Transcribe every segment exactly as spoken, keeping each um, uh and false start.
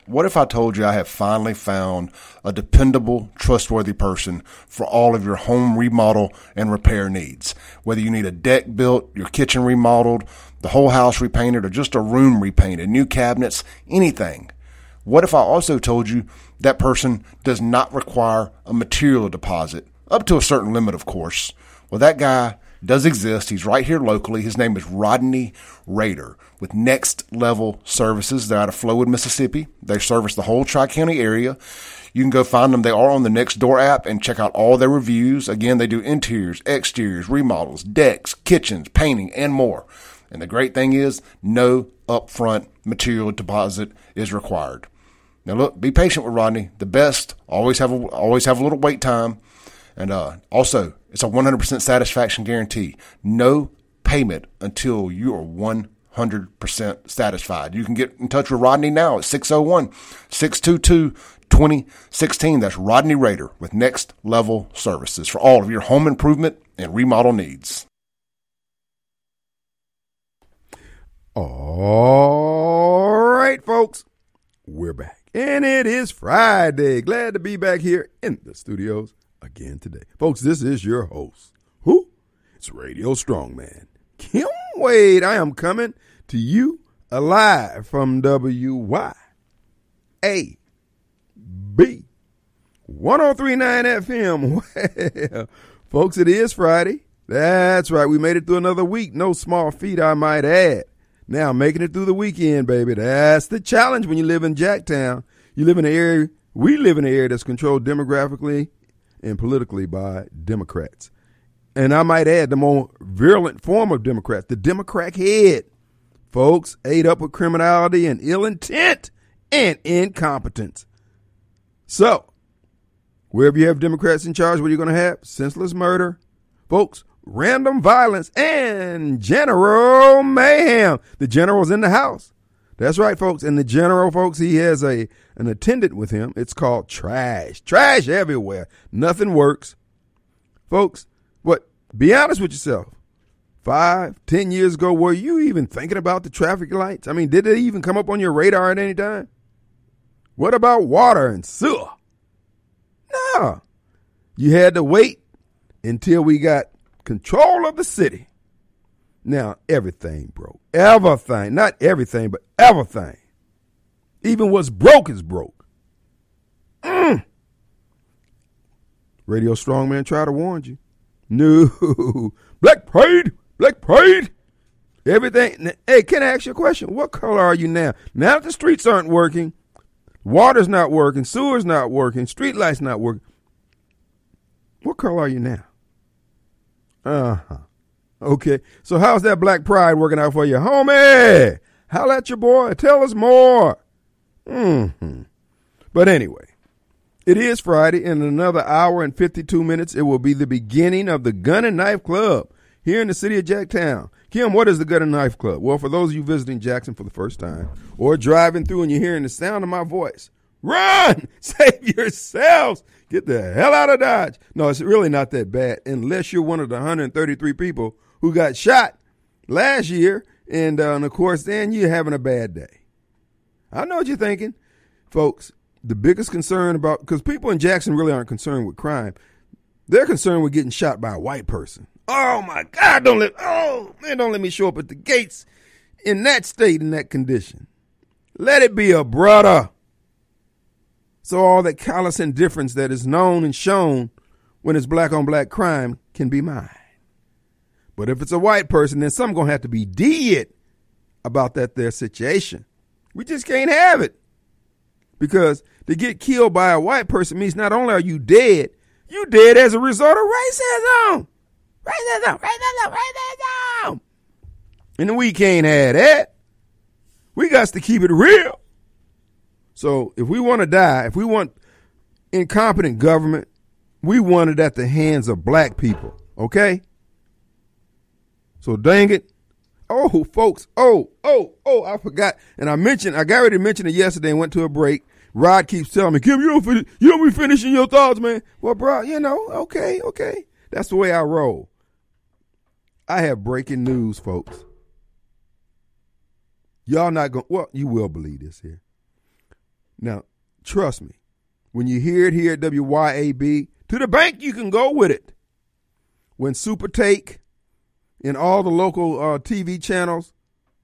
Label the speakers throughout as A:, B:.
A: What if I told you I have finally found a dependable, trustworthy person for all of your home remodel and repair needs? Whether you need a deck built, your kitchen remodeled, the whole house repainted, or just a room repainted, new cabinets, anything. What if I also told you that person does not require a material deposit, up to a certain limit, of course? Well, that guy does exist. He's right here locally. His name is Rodney Rader with Next Level Services. They're out of Flowood, Mississippi. They service the whole Tri-County area. You can go find them. They are on the Nextdoor app and check out all their reviews. Again, they do interiors, exteriors, remodels, decks, kitchens, painting, and more. And the great thing is no upfront material deposit is required. Now look, be patient with Rodney. The best always have a, always have a little wait time. And uh, also, it's a one hundred percent satisfaction guarantee. No payment until you are one hundred percent satisfied. You can get in touch with Rodney now at six oh one, six two two, two oh one six. That's Rodney Rader with Next Level Services for all of your home improvement and remodel needs.
B: All right, folks, we're back. And it is Friday. Glad to be back here in the studios again today. Folks, this is your host. Who? It's Radio Strongman, Kim Wade. I am coming to you alive from W Y A B one oh three point nine F M. Well, folks, it is Friday. That's right. We made it through another week. No small feat, I might add. Now, making it through the weekend, baby. That's the challenge when you live in Jacktown. You live in an area, we live in an area that's controlled demographically and politically by Democrats. And I might add the more virulent form of Democrats, the Democrat head. Folks, ate up with criminality and ill intent and incompetence. So, wherever you have Democrats in charge, what are you going to have? Senseless murder. Folks, random violence and general mayhem. The general's in the house. That's right, folks. And the general, folks, he has a an attendant with him. It's called trash. Trash everywhere. Nothing works. Folks, what? Be honest with yourself. Five, ten years ago, were you even thinking about the traffic lights? I mean, did it even come up on your radar at any time? What about water and sewer? No. You had to wait until we got control of the city. Now, everything broke. Everything. Not everything, but everything. Even what's broke is broke. Mm. Radio Strongman tried to warn you. No. Black Pride. Black Pride. Everything. Hey, can I ask you a question? What color are you now? Now that the streets aren't working, water's not working, sewer's not working, street lights not working, what color are you now? Uh-huh. Okay. So how's that Black Pride working out for you? Homie, holla at your boy. Tell us more. Mm-hmm. But anyway, it is Friday. In another hour and fifty-two minutes, it will be the beginning of the Gun and Knife Club here in the city of Jacktown. Kim, what is the Gun and Knife Club? Well, for those of you visiting Jackson for the first time or driving through and you're hearing the sound of my voice, run! Save yourselves! Get the hell out of Dodge. No, it's really not that bad unless you're one of the one hundred thirty-three people who got shot last year. And, uh, and of course, then you're having a bad day. I know what you're thinking. Folks, the biggest concern about, because people in Jackson really aren't concerned with crime. They're concerned with getting shot by a white person. Oh, my God, don't let, oh, man, don't let me show up at the gates in that state, in that condition. Let it be a brother. So all that callous indifference that is known and shown when it's black on black crime can be mine. But if it's a white person, then something going to have to be did about that their situation. We just can't have it. Because to get killed by a white person means not only are you dead, you dead as a result of racism. Racism, racism, racism. And we can't have that. We got to keep it real. So if we want to die, if we want incompetent government, we want it at the hands of black people, okay? So dang it. Oh, folks, oh, oh, oh, I forgot. And I mentioned, I got ready to mention it yesterday and went to a break. Rod keeps telling me, Kim, you don't, finish, you don't be finishing your thoughts, man. Well, bro, you know, okay, okay. That's the way I roll. I have breaking news, folks. Y'all not going, well, you will believe this here. Now, trust me, when you hear it here at W Y A B, to the bank you can go with it. When Super Take and all the local uh, T V channels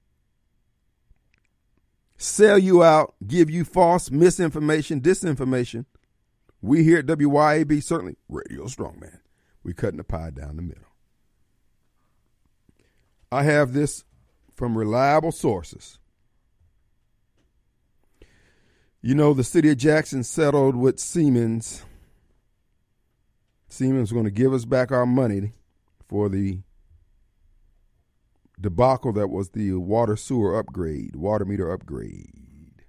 B: sell you out, give you false misinformation, disinformation, we here at W Y A B, certainly Radio Strongman, we're cutting the pie down the middle. I have this from reliable sources. You know, the city of Jackson settled with Siemens. Siemens was going to give us back our money for the debacle that was the water sewer upgrade, water meter upgrade.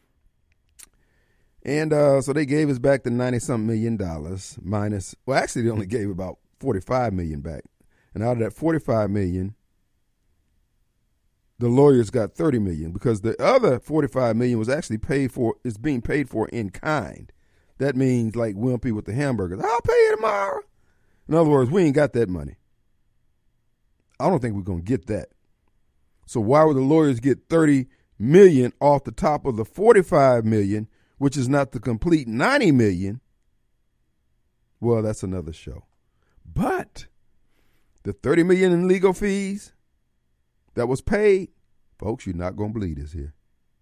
B: And uh, so they gave us back the ninety-something million dollars minus, well, actually they only gave about forty-five million dollars back. And out of that forty-five million dollars, the lawyers got thirty million dollars because the other forty-five million dollars was actually paid for, is being paid for in kind. That means like Wimpy with the hamburgers. I'll pay you tomorrow. In other words, we ain't got that money. I don't think we're going to get that. So why would the lawyers get thirty million dollars off the top of the forty-five million dollars, which is not the complete ninety million dollars? Well, that's another show. But the thirty million dollars in legal fees that was paid, folks, you're not going to believe this here.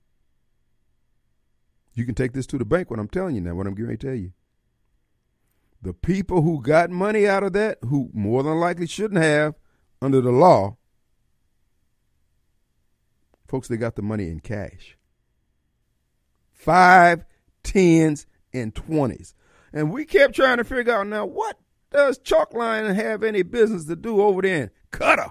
B: You can take this to the bank, what I'm telling you now, what I'm going to tell you. The people who got money out of that, who more than likely shouldn't have under the law, folks, they got the money in cash. Five, tens, and twenties. And we kept trying to figure out now, what does Chalkline have any business to do over there in Qatar?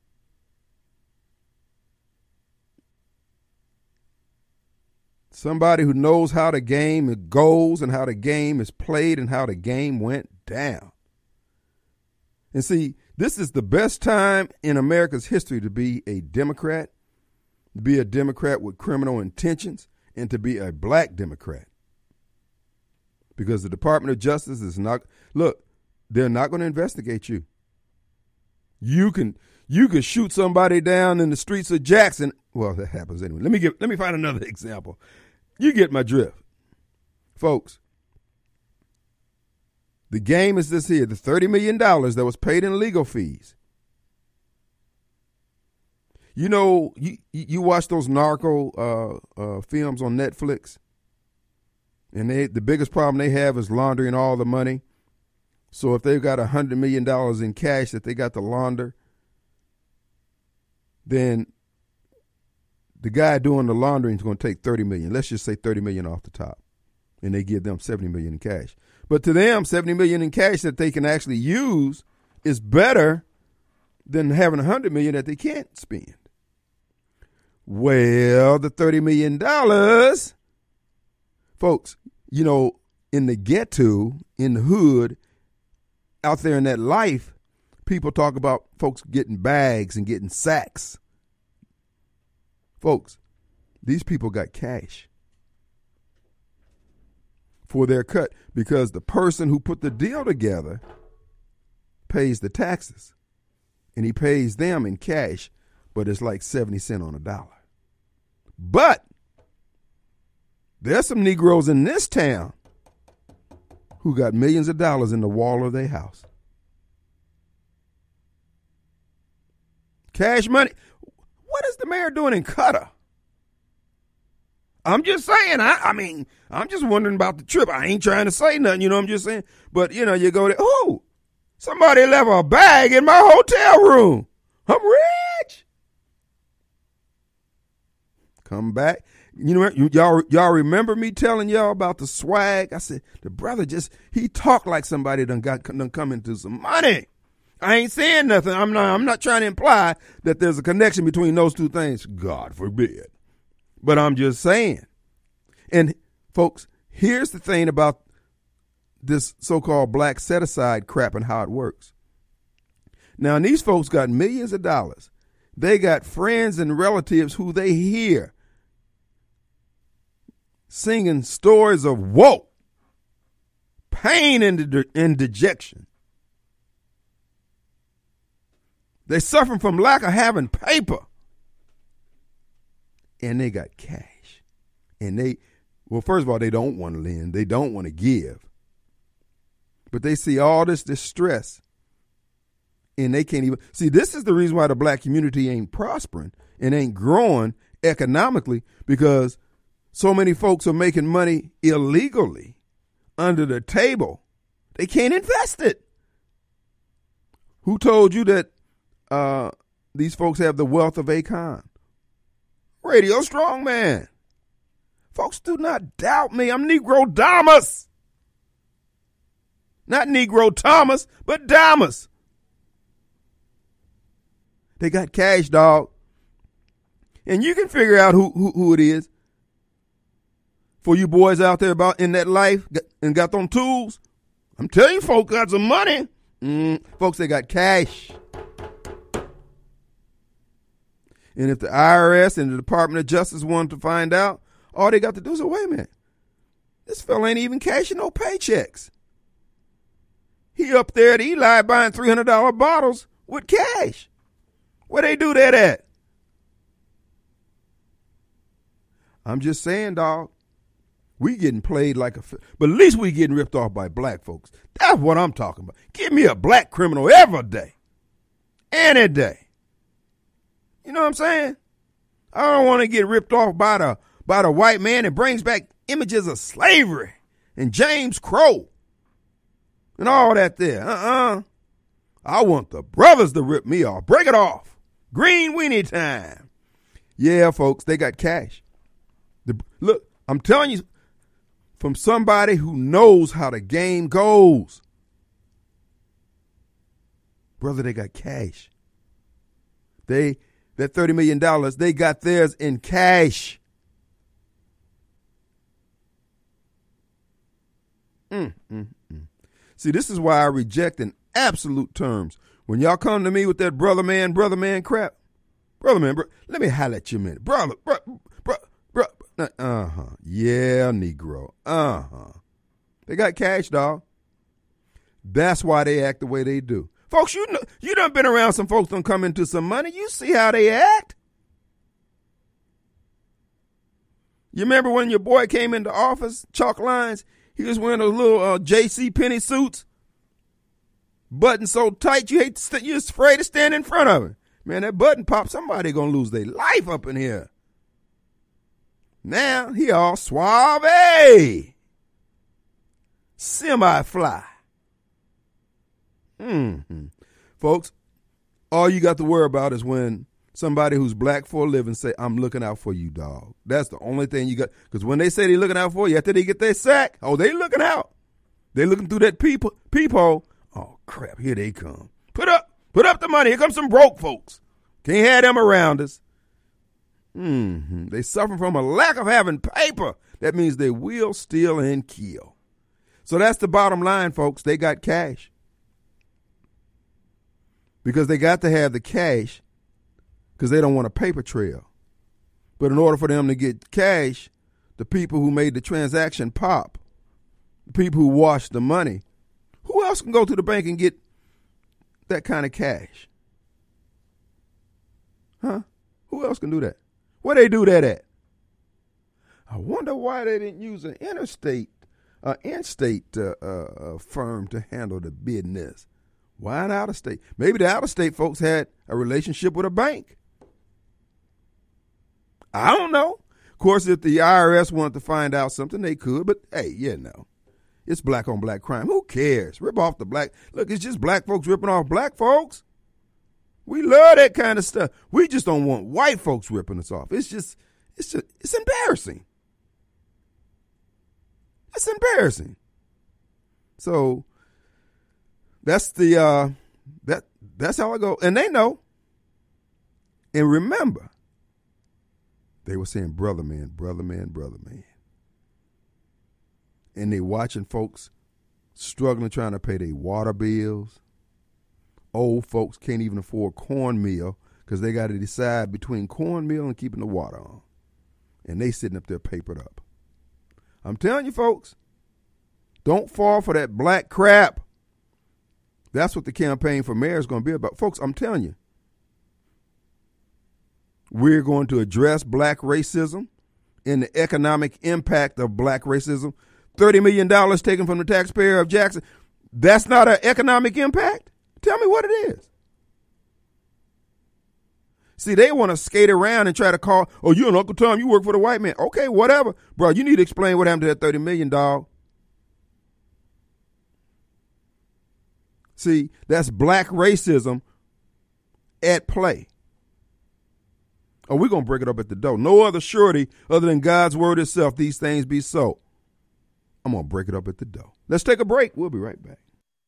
B: Somebody who knows how the game goes and how the game is played and how the game went down. And see, this is the best time in America's history to be a Democrat, to be a Democrat with criminal intentions, and to be a black Democrat. Because the Department of Justice is not, look, they're not going to investigate you. You can you can shoot somebody down in the streets of Jackson. Well, that happens anyway. Let me give let me find another example. You get my drift. Folks, the game is this here, the thirty million dollars that was paid in legal fees. You know, you you watch those narco uh, uh, films on Netflix, and they the biggest problem they have is laundering all the money. So if they've got one hundred million dollars in cash that they got to launder, then the guy doing the laundering is going to take thirty million dollars. Let's just say thirty million dollars off the top, and they give them seventy million dollars in cash. But to them, seventy million dollars in cash that they can actually use is better than having one hundred million dollars that they can't spend. Well, the thirty million dollars, folks, you know, in the ghetto, in the hood, out there in that life, people talk about folks getting bags and getting sacks. Folks, these people got cash for their cut because the person who put the deal together pays the taxes, and he pays them in cash, but it's like seventy cents on a dollar. But there's some Negroes in this town who got millions of dollars in the wall of their house. Cash money. What is the mayor doing in Qatar? I'm just saying. I, I mean, I'm just wondering about the trip. I ain't trying to say nothing, you know what I'm just saying? But, you know, you go there. Oh, somebody left a bag in my hotel room. I'm rich. Come back. You know, y'all, y'all remember me telling y'all about the swag? I said, the brother just, he talked like somebody done got done come into some money. I ain't saying nothing. I'm not, I'm not trying to imply that there's a connection between those two things. God forbid. But I'm just saying. And folks, here's the thing about this so-called black set-aside crap and how it works. Now, and these folks got millions of dollars. They got friends and relatives who they hear singing stories of woe, pain, and, de- and dejection. They're suffering from lack of having paper. And they got cash. And they, Well, first of all, they don't want to lend. They don't want to give. But they see all this distress, and they can't even. See, this is the reason why the black community ain't prospering and ain't growing economically, because so many folks are making money illegally under the table. They can't invest it. Who told you that uh, these folks have the wealth of Akon? Radio Strongman. Folks, do not doubt me. I'm Negro Damas. Not Negro Thomas, but Damas. They got cash, dog. And you can figure out who, who, who it is. For you boys out there about in that life and got them tools, I'm telling you, folks got some money. Mm, folks, they got cash. And if the I R S and the Department of Justice wanted to find out, all they got to do is say, wait a minute, this fella ain't even cashing no paychecks. He up there at Eli buying three hundred dollars bottles with cash. Where they do that at? I'm just saying, dog, we getting played like a, but at least we getting ripped off by black folks. That's what I'm talking about. Give me a black criminal every day, any day. You know what I'm saying? I don't want to get ripped off by the by the white man that brings back images of slavery and James Crow and all that there. Uh-uh. I want the brothers to rip me off. Break it off. Green weenie time. Yeah, folks, they got cash. The, look, I'm telling you, from somebody who knows how the game goes. Brother, they got cash. They, that thirty million dollars, they got theirs in cash. Mm, mm, mm. See, this is why I reject in absolute terms. When y'all come to me with that brother man, brother man crap, brother man, bro, let me holler at you a minute. Brother, bro, bro, bro, uh-huh. Yeah, Negro. Uh-huh. They got cash, dog. That's why they act the way they do. Folks, you know, you done been around some folks done come into some money. You see how they act. You remember when your boy came into office, chalk lines? He was wearing those little uh, J C Penney suits, button so tight you hate to st- you're afraid to stand in front of it. Man, that button pop, somebody gonna lose their life up in here. Now he all suave, semi-fly. Mm-hmm. Folks, all you got to worry about is when somebody who's black for a living say, I'm looking out for you, dog. That's the only thing you got. Because when they say they're looking out for you, after they get their sack, oh, they looking out. They looking through that peep- peephole. Oh, crap, here they come. Put up, put up the money. Here comes some broke folks. Can't have them around us. Mm-hmm. They suffer from a lack of having paper. That means they will, steal, and kill. So that's the bottom line, folks. They got cash. Because they got to have the cash because they don't want a paper trail. But in order for them to get cash, the people who made the transaction pop, the people who washed the money, who else can go to the bank and get that kind of cash? Huh? Who else can do that? Where they do that at? I wonder why they didn't use an interstate, uh, in-state uh, uh, firm to handle the business. Why an out-of-state? Maybe the out-of-state folks had a relationship with a bank. I don't know. Of course, if the I R S wanted to find out something, they could. But, hey, you know, it's black on black crime. Who cares? Rip off the black. Look, it's just black folks ripping off black folks. We love that kind of stuff. We just don't want white folks ripping us off. It's just, it's just, it's embarrassing. It's embarrassing. So that's the, uh, that, that's how I go. And they know. And remember, they were saying, brother man, brother man, brother man. And they watching folks struggling trying to pay their water bills. Old folks can't even afford cornmeal because they got to decide between cornmeal and keeping the water on. And they sitting up there papered up. I'm telling you, folks, don't fall for that black crap. That's what the campaign for mayor is going to be about. Folks, I'm telling you, we're going to address black racism in the economic impact of black racism? thirty million dollars taken from the taxpayer of Jackson. That's not an economic impact? Tell me what it is. See, they want to skate around and try to call, oh, you and Uncle Tom, you work for the white man. Okay, whatever. Bro, you need to explain what happened to that thirty million dollars, dog. See, that's black racism at play. Oh, we're going to break it up at the door. No other surety other than God's word itself, these things be so. I'm going to break it up at the door. Let's take a break. We'll be right back.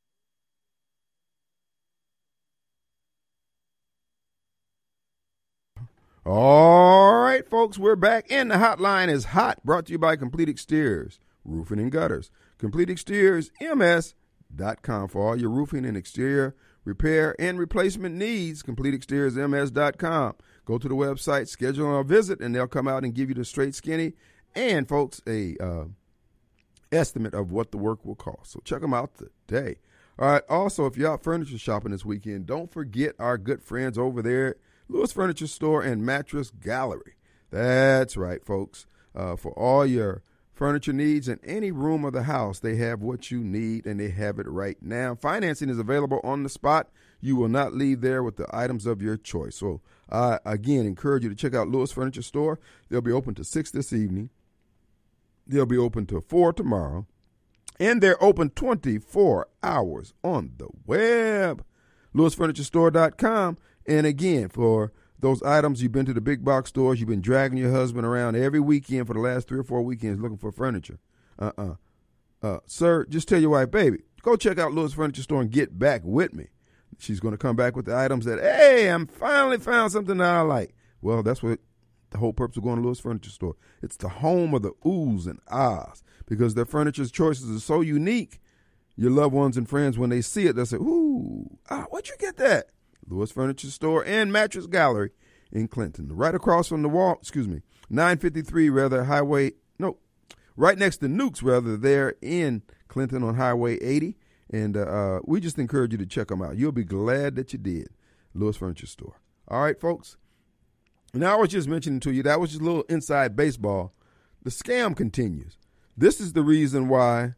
B: All right, folks, we're back. And the hotline is hot, brought to you by Complete Exteriors, Roofing and Gutters. Complete Exteriors, M S dot com for all your roofing and exterior repair and replacement needs. Complete Exteriors, M S dot com. Go to the website, schedule a visit, and they'll come out and give you the straight skinny and, folks, a uh, estimate of what the work will cost. So check them out today. All right, also, if you're out furniture shopping this weekend, don't forget our good friends over there at Lewis Furniture Store and Mattress Gallery. That's right, folks. Uh, for all your furniture needs in any room of the house, they have what you need, and they have it right now. Financing is available on the spot. You will not leave there with the items of your choice. So, I, uh, again, encourage you to check out Lewis Furniture Store. They'll be open to six this evening. They'll be open to four tomorrow. And they're open twenty-four hours on the web. Lewis Furniture Store dot com. And again, for those items, you've been to the big box stores, you've been dragging your husband around every weekend for the last three or four weekends looking for furniture. Uh-uh. Uh, sir, just tell your wife, baby, go check out Lewis Furniture Store and get back with me. She's going to come back with the items that, hey, I'm finally found something that I like. Well, that's what the whole purpose of going to Lewis Furniture Store. It's the home of the oohs and ahs because their furniture choices are so unique. Your loved ones and friends, when they see it, they'll say, ooh, ah, where'd you get that? Lewis Furniture Store and Mattress Gallery in Clinton. Right across from the wall, excuse me, nine fifty-three, rather, Highway, no, right next to Nukes, rather, there in Clinton on Highway eighty. And uh, uh, we just encourage you to check them out. You'll be glad that you did. Lewis Furniture Store. All right, folks. Now, I was just mentioning to you, that was just a little inside baseball. The scam continues. This is the reason why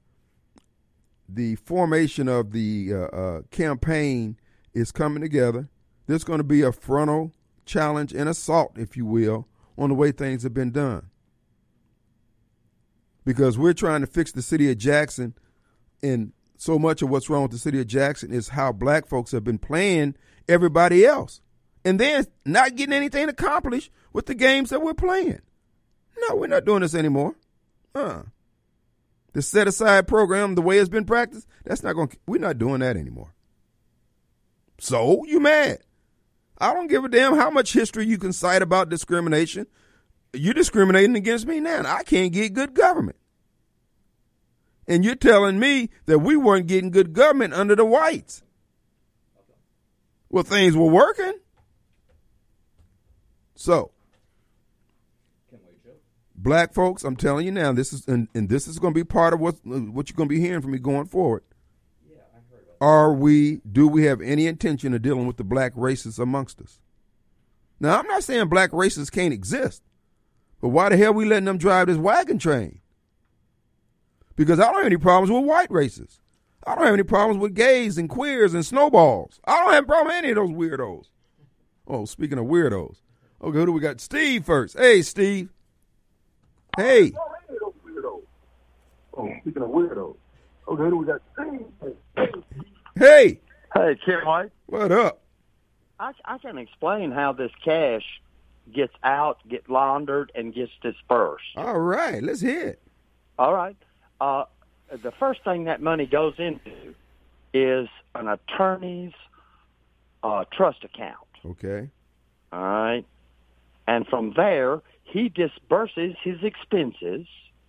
B: the formation of the uh, uh, campaign is coming together. There's going to be a frontal challenge and assault, if you will, on the way things have been done. Because we're trying to fix the city of Jackson, and so much of what's wrong with the city of Jackson is how black folks have been playing everybody else and then not getting anything accomplished with the games that we're playing. No, we're not doing this anymore. Uh, the set-aside program, the way it's been practiced, that's not going to, we're not doing that anymore. So, you mad. I don't give a damn how much history you can cite about discrimination. You're discriminating against me now. I can't get good government. And you're telling me that we weren't getting good government under the whites. Well, things were working. So, black folks, I'm telling you now, this is and, and this is going to be part of what what you're going to be hearing from me going forward. Yeah, I heard about that. Are we? Do we have any intention of dealing with the black racists amongst us? Now, I'm not saying black racists can't exist, but why the hell are we letting them drive this wagon train? Because I don't have any problems with white racists. I don't have any problems with gays and queers and snowballs. I don't have a problem with any of those weirdos. Oh, speaking of weirdos. Okay, who do we got? Steve first. Hey, Steve. Hey.
C: Oh, speaking of weirdos. Okay, who do we got? Steve.
B: Hey.
D: Hey, Kim White.
B: What up?
D: I, I can explain how this cash gets out, gets laundered, and gets dispersed.
B: All right, let's hear it.
D: All right. Uh, the first thing that money goes into is an attorney's uh, trust account.
B: Okay.
D: All right. And from there, he disburses his expenses,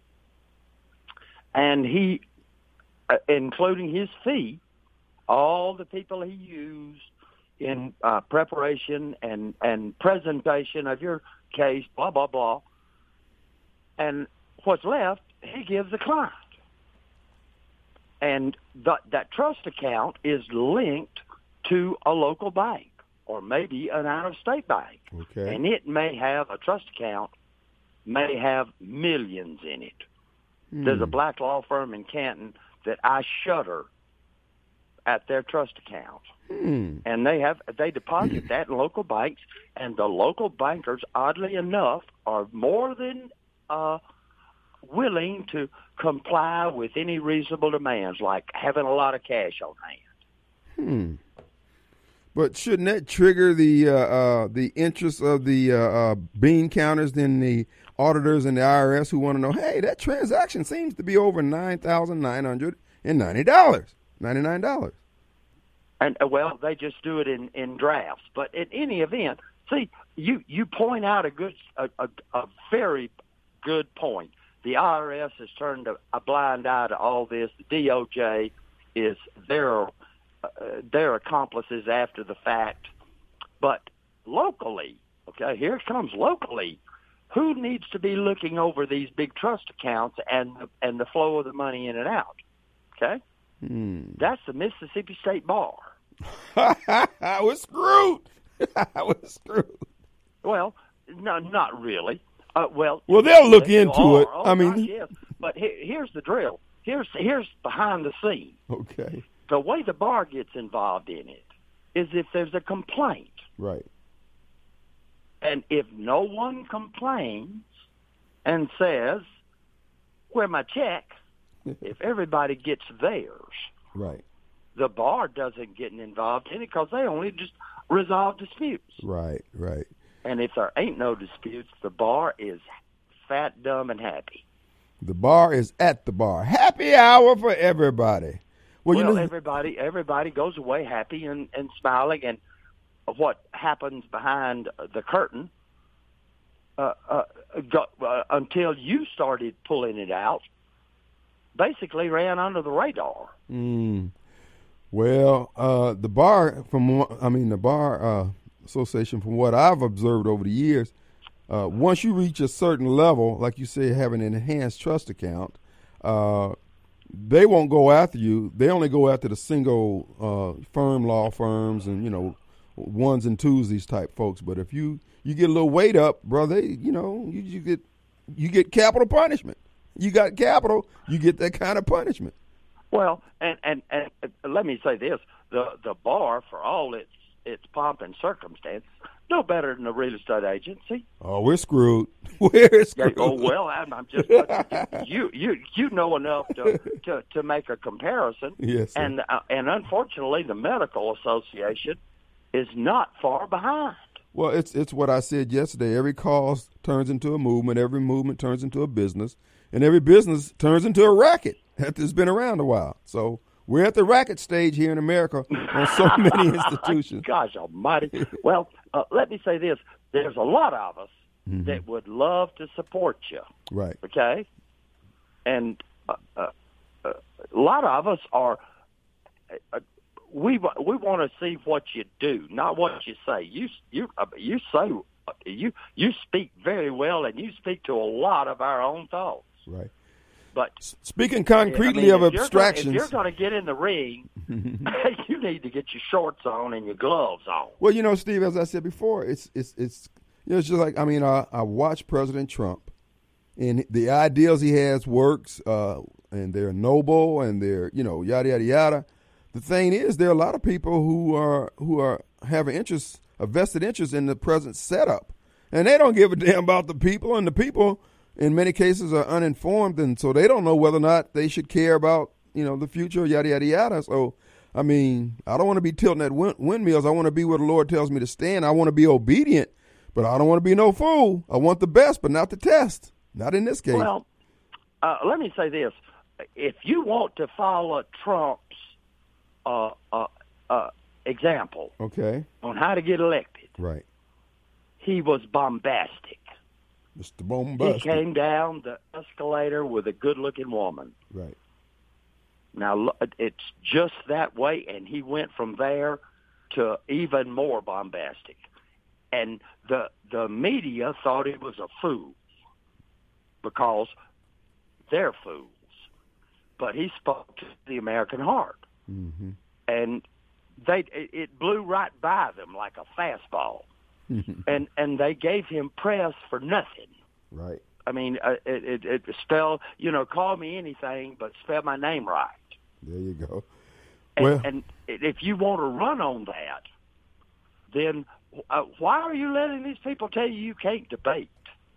D: and he, uh, including his fee, all the people he used in uh, preparation and, and presentation of your case, blah, blah, blah. And what's left, he gives the client. And th- that trust account is linked to a local bank or maybe an out-of-state bank.
B: Okay.
D: And it may have a trust account may have millions in it.
B: Hmm.
D: There's a black law firm in Canton that I shudder at their trust account.
B: Hmm.
D: And they have they deposit that in local banks, and the local bankers, oddly enough, are more than uh, willing to comply with any reasonable demands, like having a lot of cash on hand.
B: Hmm. But shouldn't that trigger the uh, uh, the interest of the uh, uh, bean counters, then the auditors and the I R S who want to know, hey, that transaction seems to be over nine thousand nine hundred and ninety dollars, ninety nine dollars.
D: And uh, well, they just do it in, in drafts. But in any event, see, you, you point out a good a, a, a very good point. The I R S has turned a, a blind eye to all this. The D O J is their uh, their accomplices after the fact. But locally, okay, here it comes locally. Who needs to be looking over these big trust accounts and and the flow of the money in and out? Okay,
B: Hmm.
D: that's the Mississippi State Bar.
B: I was screwed. I was screwed.
D: Well, no, not really. Uh, well,
B: Well, they'll look
D: you
B: into
D: are.
B: it.
D: Oh,
B: I mean,
D: gosh, yes. But he, here's the drill. Here's here's behind the scenes.
B: okay,
D: The way the bar gets involved in it is if there's a complaint,
B: right.
D: and if no one complains and says, "Where my check?" if everybody gets theirs,
B: Right,
D: the bar doesn't get involved in it because they only just resolve disputes.
B: right, right.
D: And if there ain't no disputes, the bar is fat, dumb, and happy.
B: The bar is at the bar. Happy hour for everybody. Well,
D: Well,
B: you know,
D: everybody everybody goes away happy and, and smiling, and what happens behind the curtain uh, uh, go, uh, until you started pulling it out basically ran under the radar.
B: mm, well, uh, the bar from what- I mean the bar uh, association, from what I've observed over the years, uh, once you reach a certain level, like you say, have an enhanced trust account, uh, they won't go after you. They only go after the single uh, firm law firms and, you know, ones and twos, these type folks. But if you, you get a little weight up, brother, you know, you, you get you get capital punishment. You got capital, you get that kind of punishment.
D: Well, and, and, and let me say this. The the bar, for all its its pomp and circumstance, no better than a real estate agency.
B: Oh, we're screwed. We're
D: Yeah,
B: screwed.
D: oh well, I'm, I'm just you you you know enough to to, to make a comparison.
B: Yes, sir.
D: and uh, and unfortunately, the medical association is not far behind.
B: Well, it's it's what I said yesterday. Every cause turns into a movement. Every movement turns into a business, and every business turns into a racket that's been around a while. So we're at the racket stage here in America on so many institutions.
D: Gosh almighty. Well, uh, let me say this. There's a lot of us
B: Mhm.
D: that would love to support you,
B: Right.
D: okay? And uh, uh, uh, a lot of us are, uh, we wa- we want to see what you do, not what you say. You you uh, you say, you you speak very well, and you speak to a lot of our own thoughts.
B: Right.
D: But
B: Speaking concretely
D: I mean,
B: of
D: if you're
B: abstractions.
D: gonna, if you're going to get in the ring, you need to get your shorts on and your gloves on.
B: Well, you know, Steve, as I said before, it's it's it's you know, it's just like, I mean, I, I watch President Trump, and the ideals he has works, uh, and they're noble, and they're, you know, yada yada yada. The thing is, there are a lot of people who are who are have an interest, a vested interest in the present setup, and they don't give a damn about the people, and the people, in many cases, are uninformed, and so they don't know whether or not they should care about, you know, the future, yada yada yada. So, I mean, I don't want to be tilting at wind- windmills. I want to be where the Lord tells me to stand. I want to be obedient, but I don't want to be no fool. I want the best, but not the test. Not in this case.
D: Well, uh, let me say this: if you want to follow Trump's uh, uh, uh, example
B: Okay.
D: on how to get elected,
B: Right.
D: he was bombastic.
B: Mister Bombastic.
D: He came down the escalator with a good-looking woman.
B: Right.
D: Now, lo- it's just that way, and he went from there to even more bombastic. And the the media thought he was a fool because they're fools. But he spoke to the American heart.
B: Mm-hmm.
D: And they it, it blew right by them like a fastball. and and they gave him press for nothing.
B: Right.
D: I mean, uh, it, it, it spell, you know, call me anything, but spell my name right.
B: There you go.
D: And,
B: Well,
D: and if you want to run on that, then uh, why are you letting these people tell you you can't debate?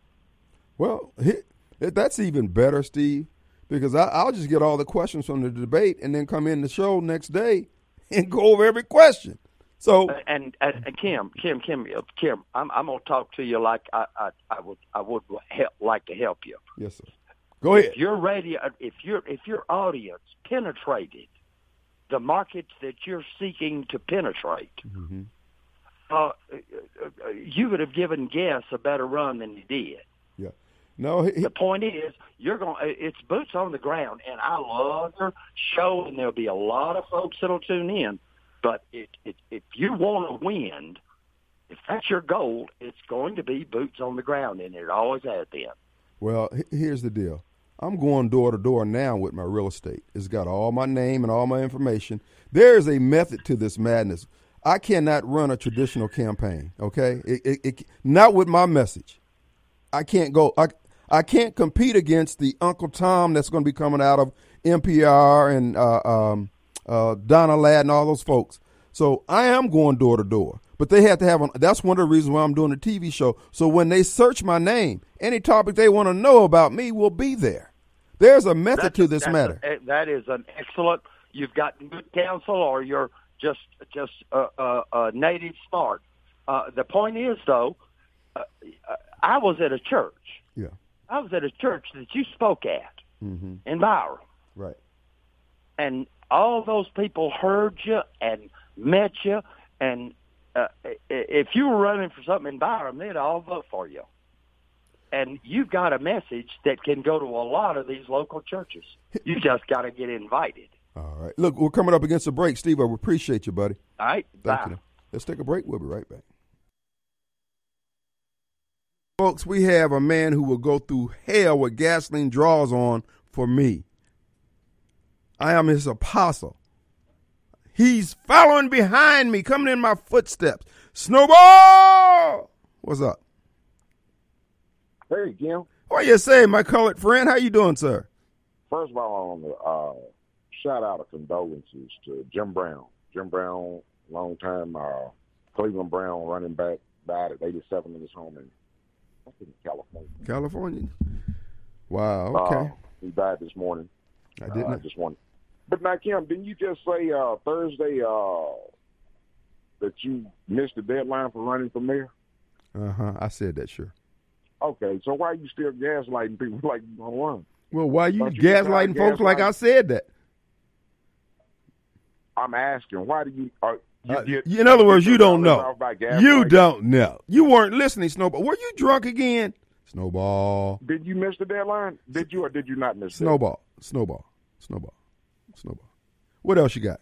B: well, he, that's even better, Steve, because I, I'll just get all the questions from the debate and then come in the show next day and go over every question. So
D: and, and, and Kim, Kim, Kim, Kim, I'm, I'm going to talk to you like I, I, I would, I would help, like to help you.
B: yes, sir. Go ahead.
D: If you're ready, if your if your audience penetrated the markets that you're seeking to penetrate,
B: Mm-hmm.
D: uh, you would have given Guess a better run than you did.
B: Yeah. No, he,
D: The point is, you're going. It's boots on the ground, and I love your show, and there'll be a lot of folks that'll tune in. But it, it, if you want to win, if that's your goal, it's going to be boots on the ground, and it always has been.
B: well, he- here's the deal. I'm going door to door now with my real estate. It's got all my name and all my information. There is a method to this madness. I cannot run a traditional campaign, okay? It, it, it, not with my message. I can't go. I, I can't compete against the Uncle Tom that's going to be coming out of N P R and uh, um, uh, Donna Ladd and all those folks. So I am going door to door. But they have to have, a, that's one of the reasons why I'm doing a T V show. So when they search my name, any topic they want to know about me will be there. There's a method
D: That's
B: to
D: a-
B: this
D: that's
B: matter.
D: a- that is an excellent. You've got good counsel, or you're just just uh, uh, uh, native smart. Uh, the point is, though, uh, I was at a church.
B: Yeah.
D: I was at a church that you spoke at
B: Mm-hmm.
D: in Byram,
B: Right.
D: and all those people heard you and met you. And uh, if you were running for something in Byram, they'd all vote for you. And you've got a message that can go to a lot of these local churches. You just got to get invited.
B: All right. Look, we're coming up against a break. Steve, I appreciate you, buddy.
D: All right?
B: Thank
D: Bye.
B: you. Let's take a break. We'll be right back. Folks, we have a man who will go through hell with gasoline draws on for me. I am his apostle. He's following behind me, coming in my footsteps. Snowball! What's up?
E: Hey, Kim.
B: What you say, my colored friend? How you doing, sir?
E: First of all, I want to uh, shout out of condolences to Jim Brown. Jim Brown, long time uh, Cleveland Brown running back, died at eighty-seven in his home in, I think, California.
B: California? Wow, okay.
E: Uh, he died this morning.
B: I didn't.
E: Uh, I just wanted. But now, Kim, didn't you just say uh, Thursday uh, that you missed the deadline for running for mayor?
B: Uh-huh, I said that, sure.
E: Okay, so why are you still gaslighting people like you don't run?
B: Well, why you
E: Don't you
B: gaslighting
E: try
B: folks like I
E: gaslighting?
B: said that?
E: I'm asking, why do you? Uh, you
B: Uh,
E: get,
B: in other words, you don't know.
E: off by
B: You
E: gaslighting?
B: don't know. You weren't listening, Snowball. Were you drunk again? Snowball.
E: Did you miss the deadline? Did you or did you not miss it?
B: Snowball. Snowball. Snowball. Snowball. What else you got?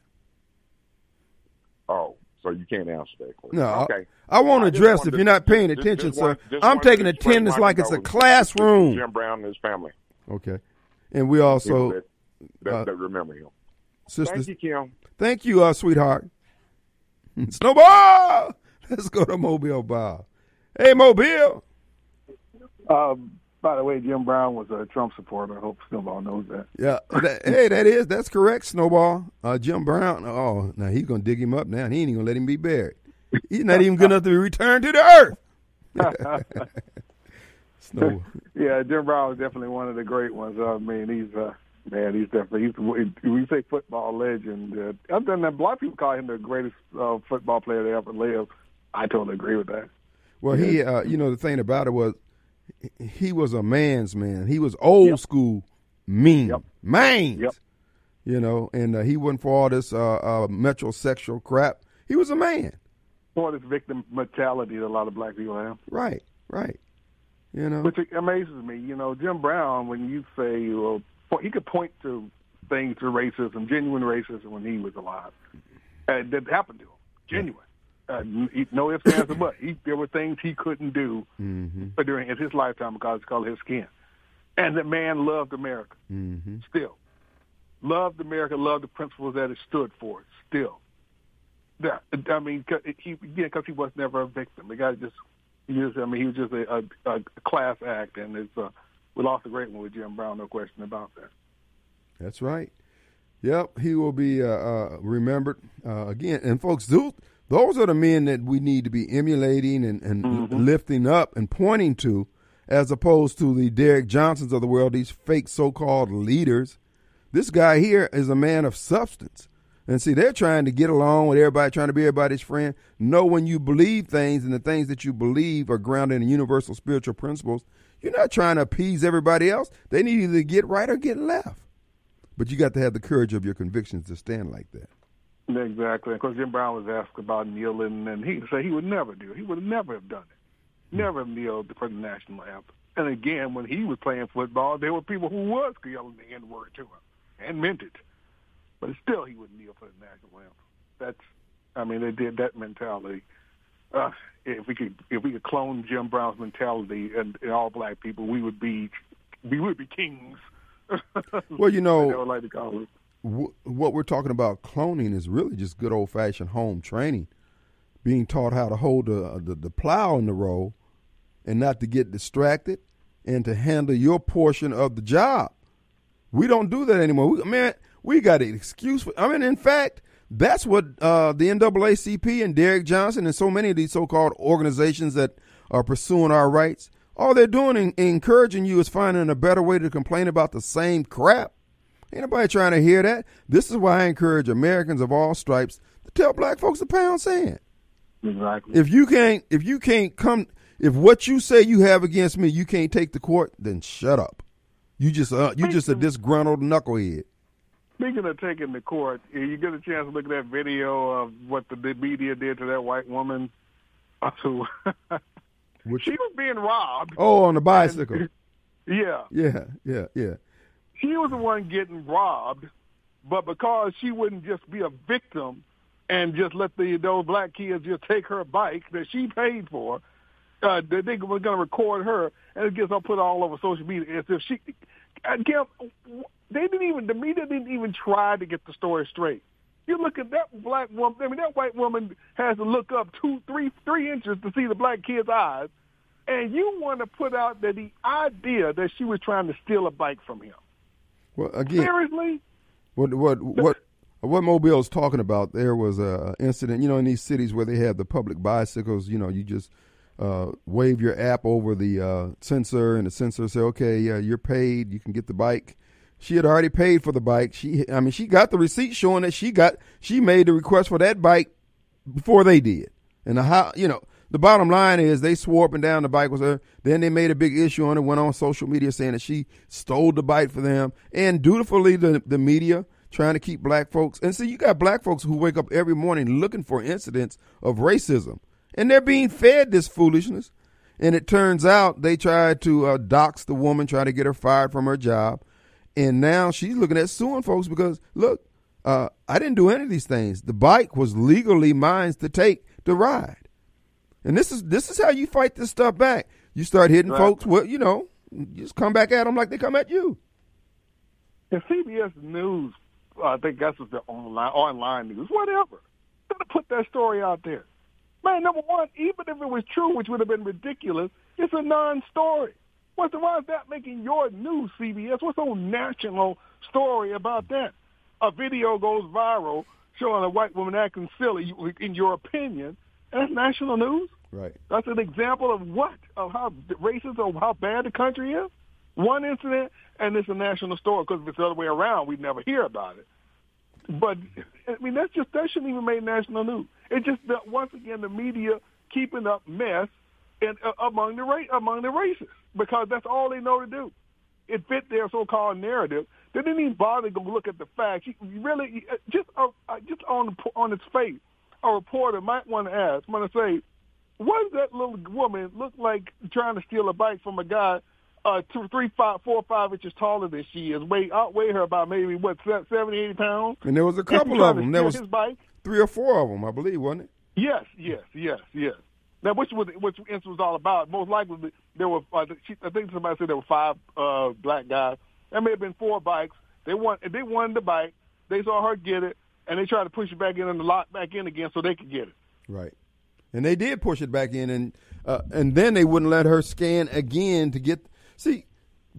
E: Oh, so you can't answer that question.
B: No.
E: Okay.
B: I, I won't
E: I just
B: address
E: wanted
B: if
E: to-
B: you're not paying
E: just-
B: attention,
E: just
B: sir.
E: want- just
B: I'm
E: wanted
B: taking
E: to express
B: attendance
E: my
B: like it's a
E: condolences
B: classroom.
E: to Jim Brown and his family.
B: Okay. And we
E: People
B: also,
E: that, that,
B: uh,
E: that remember him.
B: sisters,
E: Thank you, Kim.
B: thank you, uh, sweetheart. Snowball! Let's go to Mobile Bob. Hey, Mobile.
C: Um, by the way, Jim Brown was a Trump supporter. I hope Snowball knows that.
B: Yeah, that, hey, that is, that's correct, Snowball. Uh, Jim Brown, oh, now he's going to dig him up now. He ain't even going to let him be buried. He's not even good enough to be returned to the earth. Snow.
C: Yeah, Jim Brown was definitely one of the great ones. I mean, he's uh, man, he's definitely he's when you say football legend. Uh, other than that, a lot of people call him the greatest uh, football player that ever lived. I totally agree with that.
B: Well, he, uh, you know, the thing about it was he was a man's man. He was old
C: Yep.
B: school mean.
C: Yep.
B: Mains.
C: Yep.
B: You know, and uh, he wasn't for all this uh, uh, metrosexual crap. He was a man.
C: For this victim mentality that a lot of black people have.
B: Right, right. You know.
C: Which amazes me. You know, Jim Brown, when you say, well, he could point to things to racism, genuine racism, when he was alive. And that happened to him. Genuine. Uh, he, no ifs, ands, or buts. He, there were things he couldn't do
B: Mm-hmm.
C: during his lifetime because it's called his skin. And the man loved America.
B: Mm-hmm.
C: Still. Loved America, loved the principles that it stood for. Still. Yeah, I mean, 'cause he, yeah, because he was never a victim. The guy just, he just, I mean, he was just a, a, a class act, and it's, uh, we lost a great one with Jim Brown, no question about that.
B: That's right. Yep, he will be uh, uh, remembered uh, again. And folks, those, those are the men that we need to be emulating and, and mm-hmm. lifting up and pointing to, as opposed to the Derek Johnsons of the world, these fake so-called leaders. This guy here is a man of substance. And see, they're trying to get along with everybody, trying to be everybody's friend. Know when you believe things and the things that you believe are grounded in universal spiritual principles, you're not trying to appease everybody else. They need either to get right or get left. But you got to have the courage of your convictions to stand like that.
C: Exactly. Because Jim Brown was asked about kneeling, and he said he would never do it. He would never have done it. Never have kneeled for the national anthem. And again, when he was playing football, there were people who was yelling the N-word to him and meant it. But still, he wouldn't kneel for the national anthem. That's, I mean, they did that mentality. Uh, if we could, if we could clone Jim Brown's mentality and, and all black people, we would be, we would be kings.
B: Well, you know,
C: I would like to call it.
B: W- what we're talking about cloning is really just good old fashioned home training, being taught how to hold the, the the plow in the row, and not to get distracted, and to handle your portion of the job. We don't do that anymore. We, man, we got an excuse for. I mean, in fact, that's what uh, the N double A C P and Derek Johnson and so many of these so-called organizations that are pursuing our rights. All they're doing in, in encouraging you is finding a better way to complain about the same crap. Ain't nobody trying to hear that. This is why I encourage Americans of all stripes to tell black folks to pound sand.
C: Exactly.
B: If you can't, if you can't come, if what you say you have against me, you can't take to court, then shut up. You just, uh, you just a disgruntled knucklehead.
C: Speaking of taking to court, you get a chance to look at that video of what the media did to that white woman. Who
B: Which,
C: she was being robbed.
B: Oh, on the bicycle.
C: And, yeah.
B: Yeah, yeah, yeah.
C: She was the one getting robbed, but because she wouldn't just be a victim and just let the those black kids just take her bike that she paid for, uh, they were going to record her, and it gets all put all over social media as if she. Again, they didn't even the media didn't even try to get the story straight. You look at that black woman. I mean, that white woman has to look up two, three, three inches to see the black kid's eyes, and you want to put out that the idea that she was trying to steal a bike from him.
B: Well, again,
C: seriously,
B: what what what what Mobile is talking about? There was a incident, you know, in these cities where they have the public bicycles. You know, you just uh, wave your app over the uh, sensor, and the sensor say, "Okay, yeah, you're paid. You can get the bike." She had already paid for the bike. She, I mean, she got the receipt showing that she got, she made the request for that bike before they did. And the how, you know, the bottom line is they swore up and down the bike was her. Then they made a big issue on it, went on social media saying that she stole the bike for them. And dutifully, the, the media trying to keep black folks. And see, you got black folks who wake up every morning looking for incidents of racism. And they're being fed this foolishness. And it turns out they tried to uh, dox the woman, try to get her fired from her job. And now she's looking at suing folks because, look, uh, I didn't do any of these things. The bike was legally mine to take to ride. And this is this is how you fight this stuff back. You start hitting right. folks, well, you know, you just come back at them like they come at you.
C: And C B S News, uh, I think that's just the online, online news, whatever. Gotta put that story out there. Man, number one, even if it was true, which would have been ridiculous, it's a non-story. What's the, why is that making your news, C B S? What's the whole national story about that? A video goes viral showing a white woman acting silly, in your opinion, and that's national news?
B: Right.
C: That's an example of what? Of how racist or how bad the country is? One incident, and it's a national story, because if it's the other way around, we'd never hear about it. But, I mean, that's just, that shouldn't even make national news. It's just that, once again, the media keeping up mess in, uh, among the ra- among the racists, because that's all they know to do. It fit their so-called narrative. They didn't even bother to go look at the facts. You really, just uh, just on on its face, a reporter might want to ask, want to say, what does that little woman look like trying to steal a bike from a guy uh, two, three, five, four, five inches taller than she is? Weigh outweigh her by maybe what seventy, eighty pounds.
B: And there was a couple of them. There was
C: his bike.
B: three or four of them, I believe, wasn't it?
C: Yes, yes, yes, yes. Now, which was which incident was all about? Most likely, there were. Uh, I think somebody said there were five uh, black guys. There may have been four bikes. They want. They wanted the bike. They saw her get it, and they tried to push it back in and lock back in again so they could get it.
B: Right, and they did push it back in, and uh, and then they wouldn't let her scan again to get. See,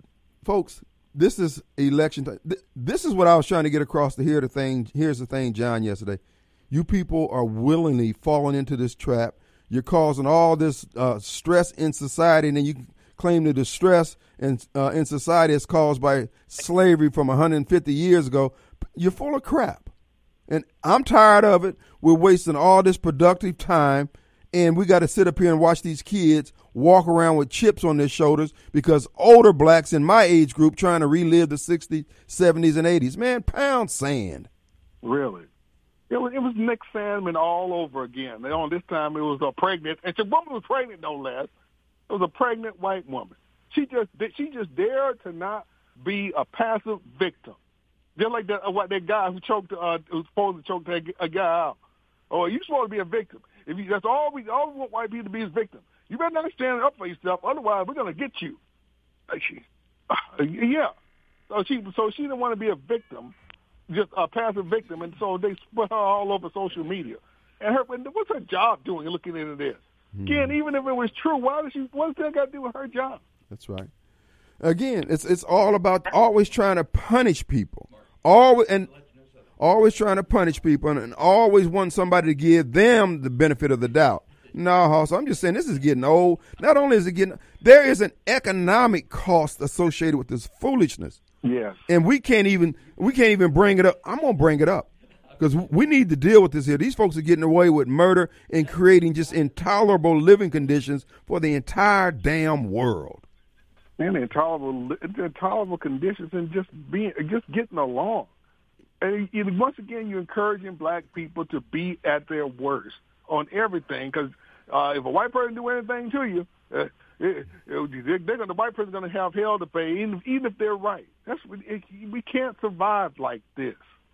B: folks, this is election time. This is what I was trying to get across to hear the thing. Here's the thing, John, yesterday. You people are willingly falling into this trap. You're causing all this uh, stress in society, and then you claim the distress in, uh, in society is caused by slavery from one hundred fifty years ago. You're full of crap. And I'm tired of it. We're wasting all this productive time, and we got to sit up here and watch these kids walk around with chips on their shoulders because older blacks in my age group trying to relive the sixties, seventies, and eighties. Man, pound sand.
C: Really? It was, it was Nick Sandman all over again. And on this time, it was a pregnant, and the woman was pregnant, no less. It was a pregnant white woman. She just she just dared to not be a passive victim. Just like that, uh, what that guy who choked, uh, who was supposed to choke that, a guy out. Oh, you supposed to be a victim. If you, that's all we all we want white people to be is victims. You better not stand up for yourself, otherwise we're gonna get you. Like she, uh, yeah. So she, so she didn't want to be a victim, just a passive victim, and so they put her all over social media. And her, what's her job doing? Looking into this mm. again, even if it was true, why does she? What's that got to do with her job?
B: That's right. Again, it's it's all about always trying to punish people, always and always trying to punish people, and, and always want somebody to give them the benefit of the doubt. No, Hoss, I'm just saying this is getting old. Not only is it getting, there is an economic cost associated with this foolishness.
C: Yes.
B: And we can't even we can't even bring it up. I'm gonna bring it up because we need to deal with this here. These folks are getting away with murder and creating just intolerable living conditions for the entire damn world.
C: And intolerable, intolerable conditions and just being, just getting along. And once again, you're encouraging black people to be at their worst on everything, because uh, if a white person do anything to you, uh, it, it, they're gonna, the white person's going to have hell to pay, even, even if they're right. That's it, we can't survive like this.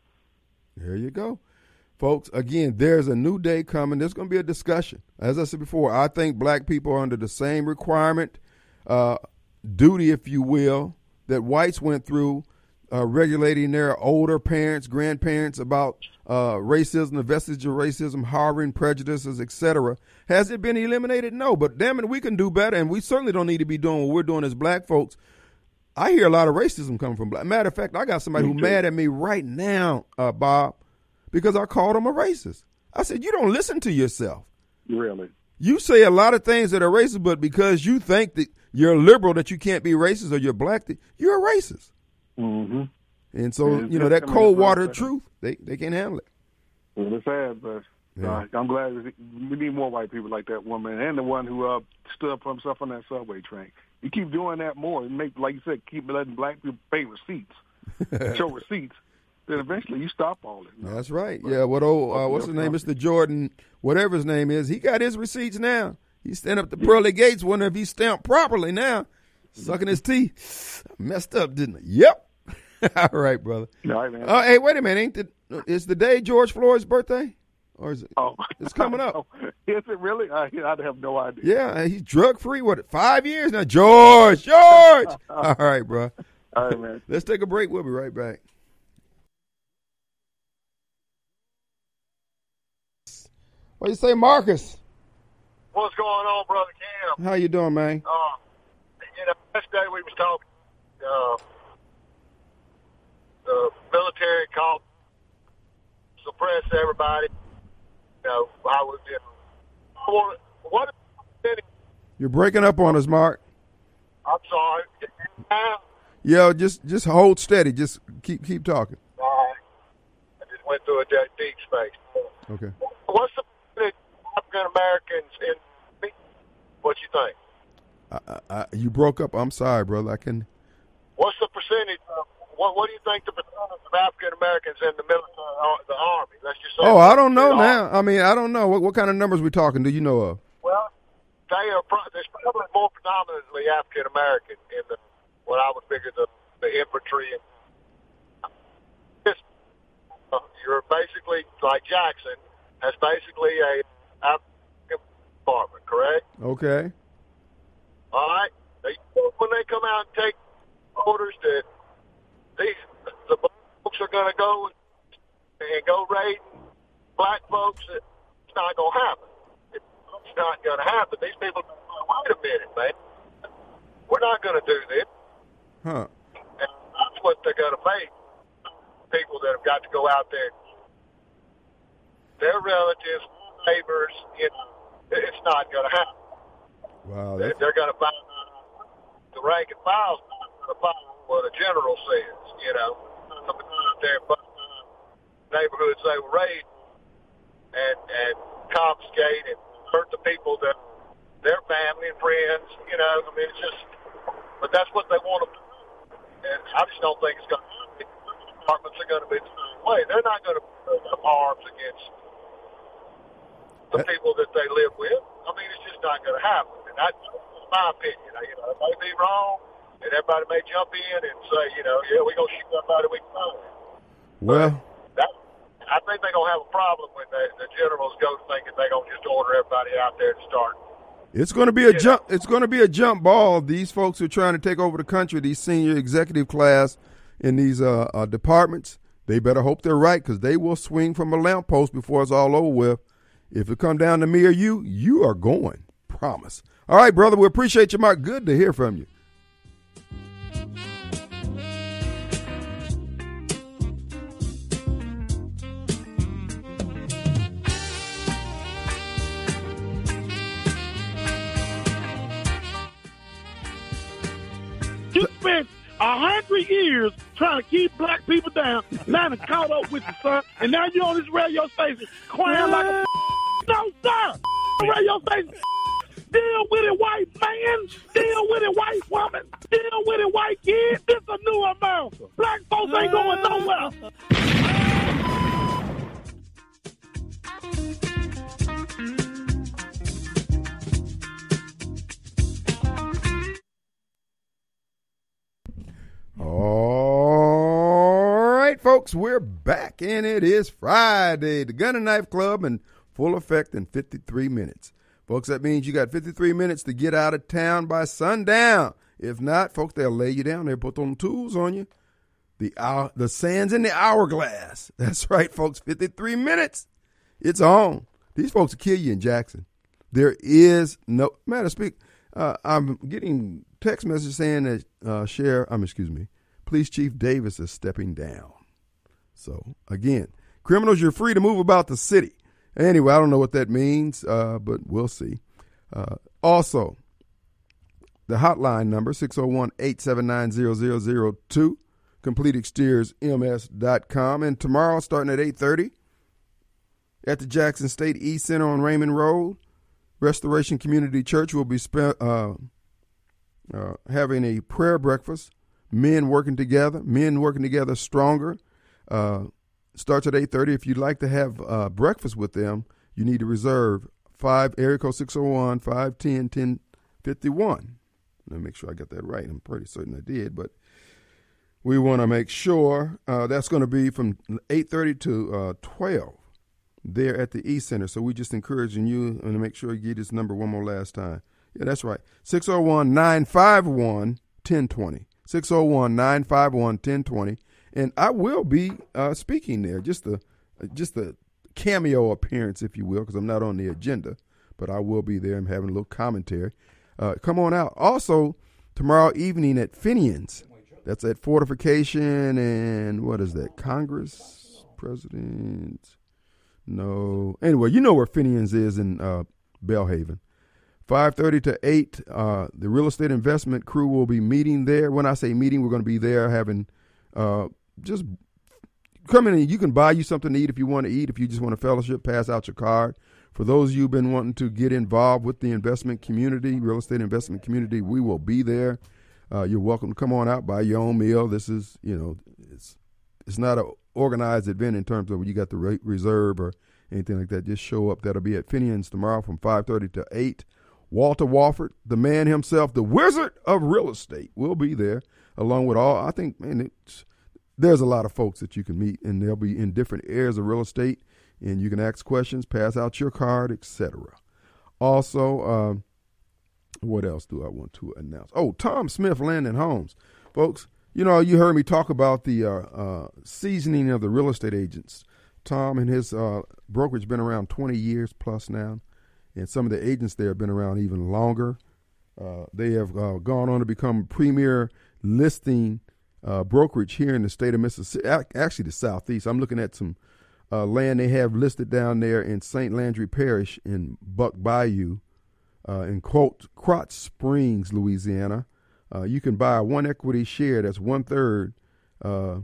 B: There you go, folks. Again, there's a new day coming. There's going to be a discussion. As I said before, I think black people are under the same requirement, uh, duty, if you will, that whites went through. Uh, regulating their older parents, grandparents about uh, racism, the vestige of racism, harboring prejudices, et cetera. Has it been eliminated? No, but damn it, we can do better, and we certainly don't need to be doing what we're doing as black folks. I hear a lot of racism coming from black. Matter of fact, I got somebody who's mad at me right now, uh, Bob, because I called him a racist. I said, you don't listen to yourself.
C: Really?
B: You say a lot of things that are racist, but because you think that you're liberal, that you can't be racist, or you're black, that you're a racist.
C: Mm-hmm.
B: And so, you know, that cold water truth, they, they can't handle it.
C: Well, it's sad, but uh, I'm glad we need more white people like that woman and the one who uh, stood up for himself on that subway train. You keep doing that more and make, like you said, keep letting black people pay receipts, show receipts, then eventually you stop all this.
B: That's right. But, yeah, what old, uh, what's his name, Mister Jordan, whatever his name is, he got his receipts now. He's standing up the pearly gates, wondering if he's stamped properly now, sucking his teeth. Messed up, didn't he? Yep. All right, brother.
C: All right, man.
B: Uh, hey, wait a minute. Ain't the, is the day George Floyd's birthday? Or is it?
C: Oh.
B: It's coming up.
C: Is it really? I, I have no idea.
B: Yeah, he's drug-free, what, five years now? George, George! All right, bro.
C: All right, man.
B: Let's take a break. We'll be right back. What do you say, Marcus?
F: What's going on, Brother Cam?
B: How you doing, man?
F: Uh, you know, yesterday we was talking, uh, the military called suppress everybody. You know, I was in. What? what
B: You're breaking up on us, Mark.
F: I'm sorry.
B: Yeah, just just hold steady. Just keep keep talking.
F: All right. I just went through a deep, deep space.
B: Okay.
F: What's the African Americans in? What you think?
B: I, I, you broke up. I'm sorry, brother. I can.
F: What's the percentage? Of, what What do you think the percentage of African Americans in the military, uh, the army? Let's just say.
B: Oh, I don't know now. I mean, I don't know. What what kind of numbers we talking? Do you know of?
F: Well, they are. There's probably more predominantly African American in the what I would figure the the infantry. And this, uh, you're basically like Jackson has basically a African department, correct?
B: Okay.
F: All right. They, when they come out and take orders that these the folks are going to go and, and go raid black folks, it's not going to happen. It's not going to happen. These people, wait a minute, man. We're not going to do this.
B: Huh.
F: what they're going to make people that have got to go out there. Their relatives, neighbors, you know, it's not going to happen.
B: Wow,
F: they're, they're going to find the rank and file's not going to follow what a general says. You know, coming out there and bust down neighborhoods they were raised and and confiscate and hurt the people that their family and friends. You know, I mean, it's just. But that's what they want to do, and I just don't think it's going to happen. The departments are going to be the same way. They're not going to put up arms against the people that they live with. I mean, it's just not going to happen. And that's my opinion. You know, it may be wrong, and everybody may jump in and say, you know, yeah, we're going to shoot somebody we can find.
B: Well,
F: that, I think they're going to have a problem when the, the generals go thinking they're going to just order everybody out there to start.
B: It's going to be a jump. It's going to be a jump ball. These folks who are trying to take over the country, these senior executive class in these uh, uh, departments, they better hope they're right, because they will swing from a lamppost before it's all over with. If it come down to me or you, you are going. Promise. All right, brother. We appreciate you, Mark. Good to hear from you.
G: You spent a hundred years trying to keep black people down. Now it's caught up with you, son. And now you're on this radio station crying like a no, sir. Radio station. Deal with it, white man. Deal with it, white woman. Deal with it, white kid. This a new America. Black folks ain't going nowhere.
B: All right, folks, we're back, and it is Friday. The Gun and Knife Club in full effect in fifty-three minutes. Folks, that means you got fifty-three minutes to get out of town by sundown. If not, folks, they'll lay you down. They'll put them tools on you. The hour, the sand's in the hourglass. That's right, folks, fifty-three minutes. It's on. These folks will kill you in Jackson. There is no, matter of speak, uh, I'm getting text message saying that uh, Sheriff, um, excuse me, Police Chief Davis is stepping down. So, again, criminals, you're free to move about the city. Anyway, I don't know what that means, uh, but we'll see. Uh, also, the hotline number, six oh one, eight seven nine, zero zero zero two, complete exteriors m s dot com. And tomorrow, starting at eight thirty, at the Jackson State East Center on Raymond Road, Restoration Community Church will be spe- uh, uh, having a prayer breakfast. Men working together, men working together stronger. Uh, starts at eight thirty. If you'd like to have uh, breakfast with them, you need to reserve five area code six oh one, five one zero, one oh five one. Let me make sure I got that right. I'm pretty certain I did, but we want to make sure uh, that's going to be from eight thirty to uh, twelve there at the East Center. So we just encouraging you and to make sure you get this number one more last time. Yeah, that's right. six oh one, nine five one, one oh two oh. six oh one, nine five one, one oh two oh. And I will be uh, speaking there, just a, just a cameo appearance, if you will, because I'm not on the agenda, but I will be there. I'm having a little commentary. Uh, come on out. Also, tomorrow evening at Finian's, that's at Fortification and what is that, Congress, President? No. Anyway, you know where Finian's is in uh, Belhaven. five thirty to eight, uh, the real estate investment crew will be meeting there. When I say meeting, we're going to be there having uh, just come in and you can buy you something to eat if you want to eat. If you just want a fellowship, pass out your card. For those of you who've been wanting to get involved with the investment community, real estate investment community, we will be there. Uh, you're welcome to come on out, buy your own meal. This is, you know, it's it's not an organized event in terms of when you got the rate reserve or anything like that. Just show up. That'll be at Finian's tomorrow from five thirty to eight. Walter Wofford, the man himself, the wizard of real estate, will be there, along with all, I think, man, it's, there's a lot of folks that you can meet, and they'll be in different areas of real estate, and you can ask questions, pass out your card, et cetera. Also, uh, what else do I want to announce? Oh, Tom Smith Land and Homes. Folks, you know, you heard me talk about the uh, uh, seasoning of the real estate agents. Tom and his uh, brokerage been around twenty years plus now. And some of the agents there have been around even longer. Uh, they have uh, gone on to become premier listing uh, brokerage here in the state of Mississippi, actually the Southeast. I'm looking at some uh, land they have listed down there in Saint Landry Parish in Buck Bayou, uh, in quote, Crotch Springs, Louisiana. Uh, you can buy a one equity share that's one third uh,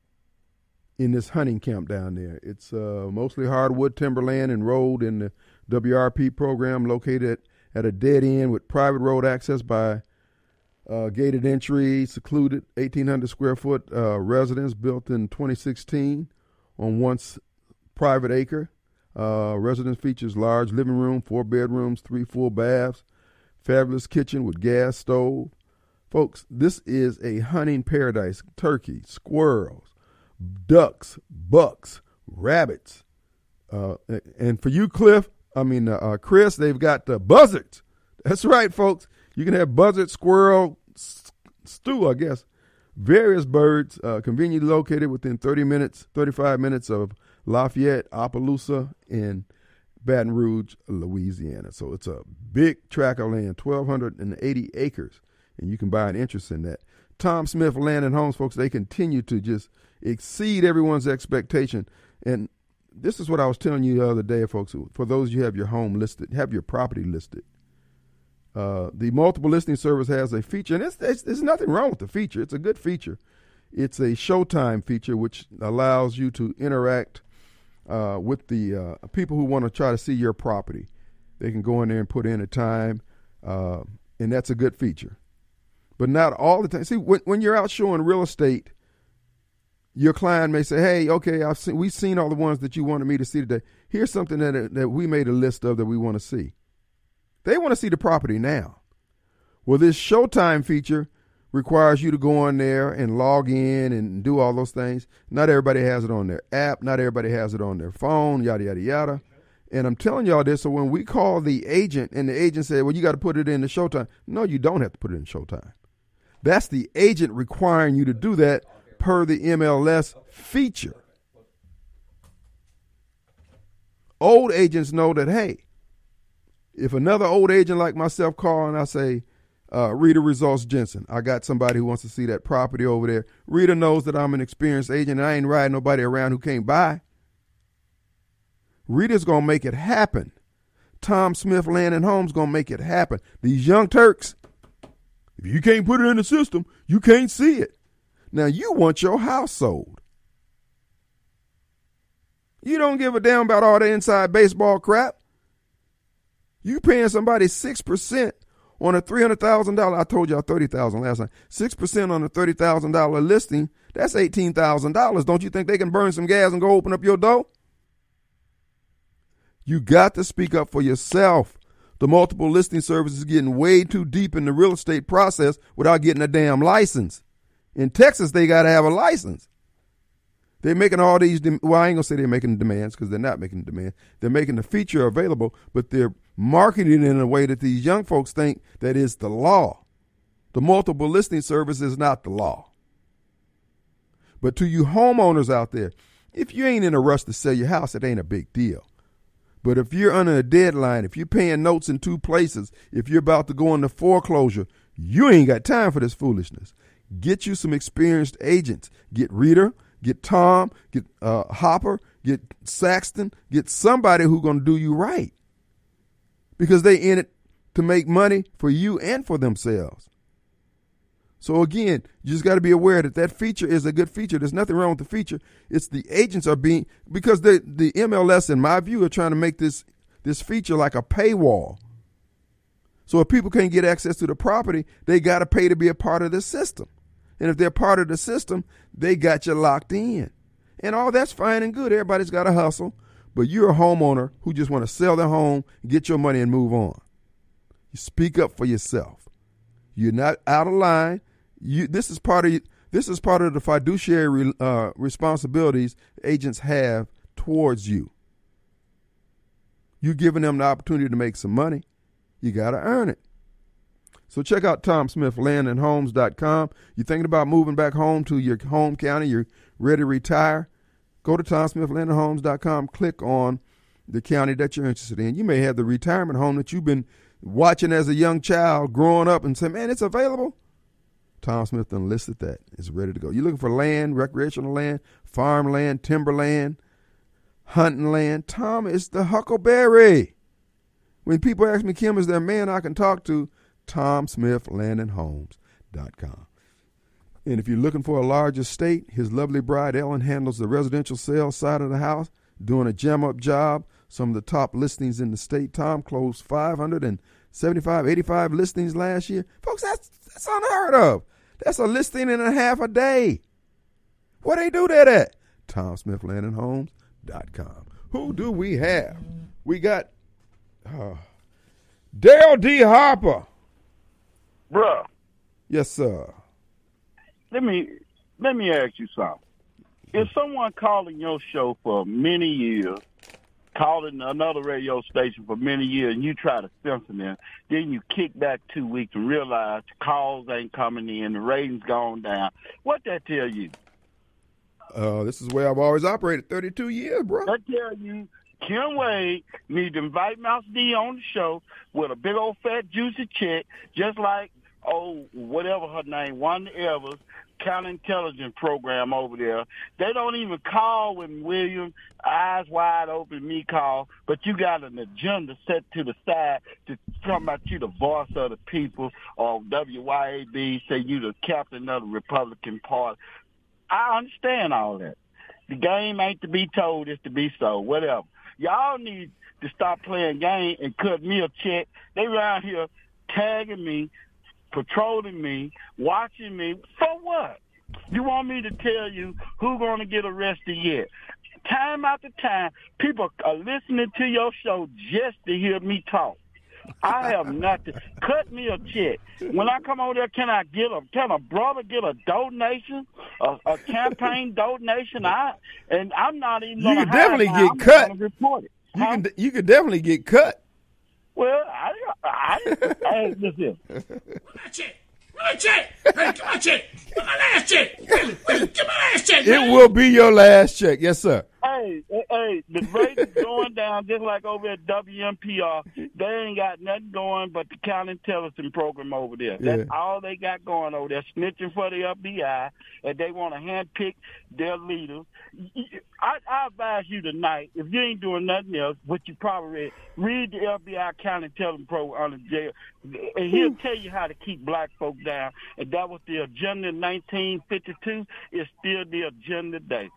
B: in this hunting camp down there. It's uh, mostly hardwood timberland enrolled in the W R P program, located at a dead end with private road access by uh, gated entry, secluded eighteen hundred square foot uh, residence built in twenty sixteen on once private acre. Uh, residence features large living room, four bedrooms, three full baths, fabulous kitchen with gas stove. Folks, this is a hunting paradise. Turkey, squirrels, ducks, bucks, rabbits. Uh, and for you, Cliff, I mean, uh, uh, Chris, they've got the buzzards. That's right, folks. You can have buzzard, squirrel, st- stew, I guess. Various birds uh, conveniently located within thirty minutes, thirty-five minutes of Lafayette, Opelousas, and Baton Rouge, Louisiana. So it's a big tract of land, twelve eighty acres, and you can buy an interest in that. Tom Smith Land and Homes, folks, they continue to just exceed everyone's expectation. And this is what I was telling you the other day, folks. For those of you who have your home listed, have your property listed. Uh, the multiple listing service has a feature, and it's, it's, there's nothing wrong with the feature. It's a good feature. It's a showtime feature, which allows you to interact uh, with the uh, people who want to try to see your property. They can go in there and put in a time, uh, and that's a good feature. But not all the time. See, when, when you're out showing real estate, your client may say, hey, okay, I've seen, we've seen all the ones that you wanted me to see today. Here's something that, that we made a list of that we want to see. They want to see the property now. Well, this Showtime feature requires you to go on there and log in and do all those things. Not everybody has it on their app. Not everybody has it on their phone, yada, yada, yada. And I'm telling y'all this, so when we call the agent and the agent said, well, you got to put it in the Showtime. No, you don't have to put it in Showtime. That's the agent requiring you to do that per the M L S feature. Old agents know that, hey, if another old agent like myself call and I say, uh, Rita Results Jensen, I got somebody who wants to see that property over there. Rita knows that I'm an experienced agent and I ain't riding nobody around who can't buy. Rita's going to make it happen. Tom Smith Land and Homes going to make it happen. These young Turks, if you can't put it in the system, you can't see it. Now, you want your house sold. You don't give a damn about all the inside baseball crap. You paying somebody six percent on a three hundred thousand dollars, I told y'all thirty thousand dollars last time, six percent on a thirty thousand dollars listing, that's eighteen thousand dollars. Don't you think they can burn some gas and go open up your door? You got to speak up for yourself. The multiple listing service is getting way too deep in the real estate process without getting a damn license. In Texas, they got to have a license. They're making all these, well, I ain't going to say they're making demands because they're not making demands. They're making the feature available, but they're marketing it in a way that these young folks think that is the law. The multiple listing service is not the law. But to you homeowners out there, if you ain't in a rush to sell your house, it ain't a big deal. But if you're under a deadline, if you're paying notes in two places, if you're about to go into foreclosure, you ain't got time for this foolishness. Get you some experienced agents. Get Rita, get Tom, get uh, Hopper, get Saxton, get somebody who's going to do you right. Because they in it to make money for you and for themselves. So again, you just got to be aware that that feature is a good feature. There's nothing wrong with the feature. It's the agents are being, because the the M L S, in my view, are trying to make this this feature like a paywall. So if people can't get access to the property, they got to pay to be a part of the system. And if they're part of the system, they got you locked in. And all that's fine and good. Everybody's got to hustle. But you're a homeowner who just want to sell their home, get your money, and move on. You speak up for yourself. You're not out of line. You, this is part of this is part of the fiduciary uh, responsibilities agents have towards you. You're giving them the opportunity to make some money. You got to earn it. So check out Tom Smith Land and Homes dot com. You're thinking about moving back home to your home county, you're ready to retire, go to Tom Smith Land and Homes dot com, click on the county that you're interested in. You may have the retirement home that you've been watching as a young child growing up and say, man, it's available. Tom Smith done listed that. It's ready to go. You're looking for land, recreational land, farmland, timberland, hunting land. Tom is the Huckleberry. When people ask me, Kim, is there a man I can talk to? Tom Smith, land and homes dot com. And if you're looking for a large estate, his lovely bride, Ellen, handles the residential sales side of the house, doing a jam-up job. Some of the top listings in the state. Tom closed five hundred seventy-five, eighty-five listings last year. Folks, that's, that's unheard of. That's a listing and a half a day. Where they do that at? Tom Smith, land and homes dot com. Who do we have? We got uh, Dale D. Harper.
G: Bruh,
B: Yes, sir.
G: let me let me ask you something. If someone calling your show for many years, calling another radio station for many years, and you try to censor them, then you kick back two weeks and realize the calls ain't coming in, the ratings gone down, what that tell you?
B: Uh, this is where I've always operated, thirty-two years, bro.
G: That tell you Kim Wade need to invite Mouse D on the show with a big old fat juicy check, just like, oh, whatever her name, Wanda Evers, counterintelligence program over there. They don't even call when William, eyes wide open, me call, but you got an agenda set to the side to talk about you the voice of the people, or W Y A B, say you the captain of the Republican Party. I understand all that. The game ain't to be told, it's to be so, whatever. Y'all need to stop playing game and cut me a check. They around here tagging me, patrolling me, watching me. For what? You want me to tell you who's going to get arrested yet? Time after time, people are listening to your show just to hear me talk. I have nothing. Cut me a check. When I come over there, can I get a can a brother get a donation, a, a campaign donation? I and I'm not even.
B: You
G: gonna
B: could definitely
G: hide
B: get
G: I'm
B: cut.
G: gonna report it.
B: You
G: Huh?
B: can you could definitely get cut.
G: Well, I, I, I listen.
H: Check. My check. Hey, come on, check. Come my last check. Give my last check.
B: It will be your last check. Yes, sir.
G: Hey, hey, hey, the rate is going down just like over at W M P R. They ain't got nothing going but the counterintelligence program over there. That's
B: Yeah.
G: all they got going over there, snitching for the F B I, and they want to handpick their leaders. I, I advise you tonight, if you ain't doing nothing else, what you probably read, read the F B I counterintelligence program under jail, and he'll tell you how to keep black folk down. And that was the agenda in nineteen fifty-two. It's still the agenda today.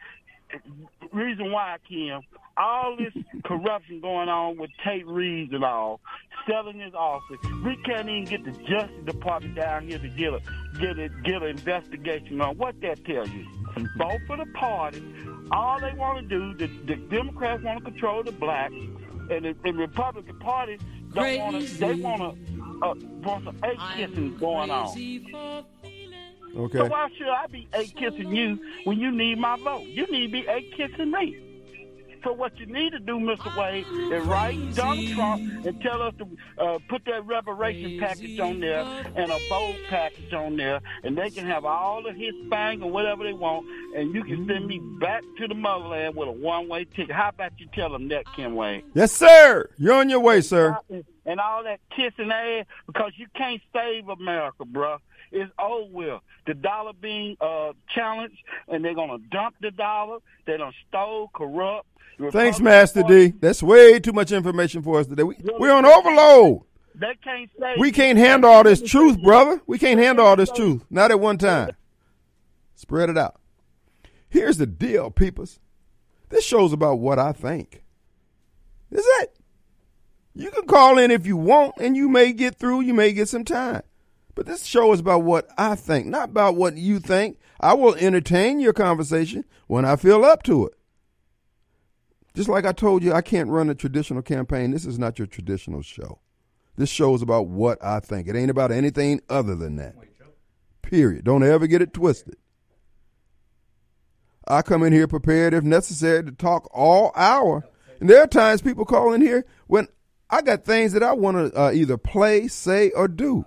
G: Reason why, Kim, all this corruption going on with Tate Reeves and all, selling his office, we can't even get the Justice Department down here to get a get a get an investigation on what that tells you. Vote for the party. All they want to do, the, the Democrats want to control the blacks, and the, the Republican Party don't want to. They want to uh, want some eight kissing going on.
B: Okay.
G: So why should I be eight kissing you when you need my vote? You need to be eight kissing me. So what you need to do, Mister Wade, is write Donald Trump and tell us to uh, put that reparation package on there and a bold package on there, and they can have all of his bang or whatever they want, and you can send me back to the motherland with a one-way ticket. How about you tell them that, Kim Wade?
B: Yes, sir. You're on your way, sir.
G: And all that kissing ass, because you can't save America, bruh. It's over with. The dollar being uh, challenged, and they're going to dump the dollar. They done stole, corrupt.
B: Thanks, Master D. That's way too much information for us today. We, we're on overload.
G: They can't say
B: We can't handle all this truth, brother. We can't handle all this truth. Not at one time. Spread it out. Here's the deal, peepers. This show's about what I think. That's it. You can call in if you want, and you may get through. You may get some time. But this show is about what I think, not about what you think. I will entertain your conversation when I feel up to it. Just like I told you, I can't run a traditional campaign. This is not your traditional show. This show is about what I think. It ain't about anything other than that. Period. Don't ever get it twisted. I come in here prepared, if necessary, to talk all hour. And there are times people call in here when I got things that I want to uh, either play, say, or do.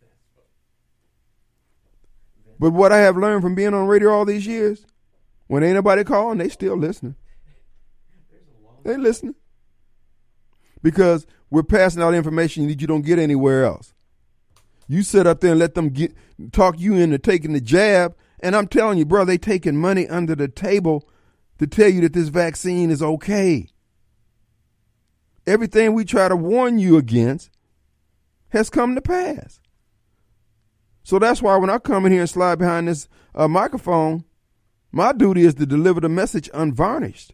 B: But what I have learned from being on radio all these years, when ain't nobody calling, they still listening. They listening. Because we're passing out information that you don't get anywhere else. You sit up there and let them get talk you into taking the jab. And I'm telling you, bro, they taking money under the table to tell you that this vaccine is okay. Everything we try to warn you against has come to pass. So that's why when I come in here and slide behind this uh, microphone, my duty is to deliver the message unvarnished.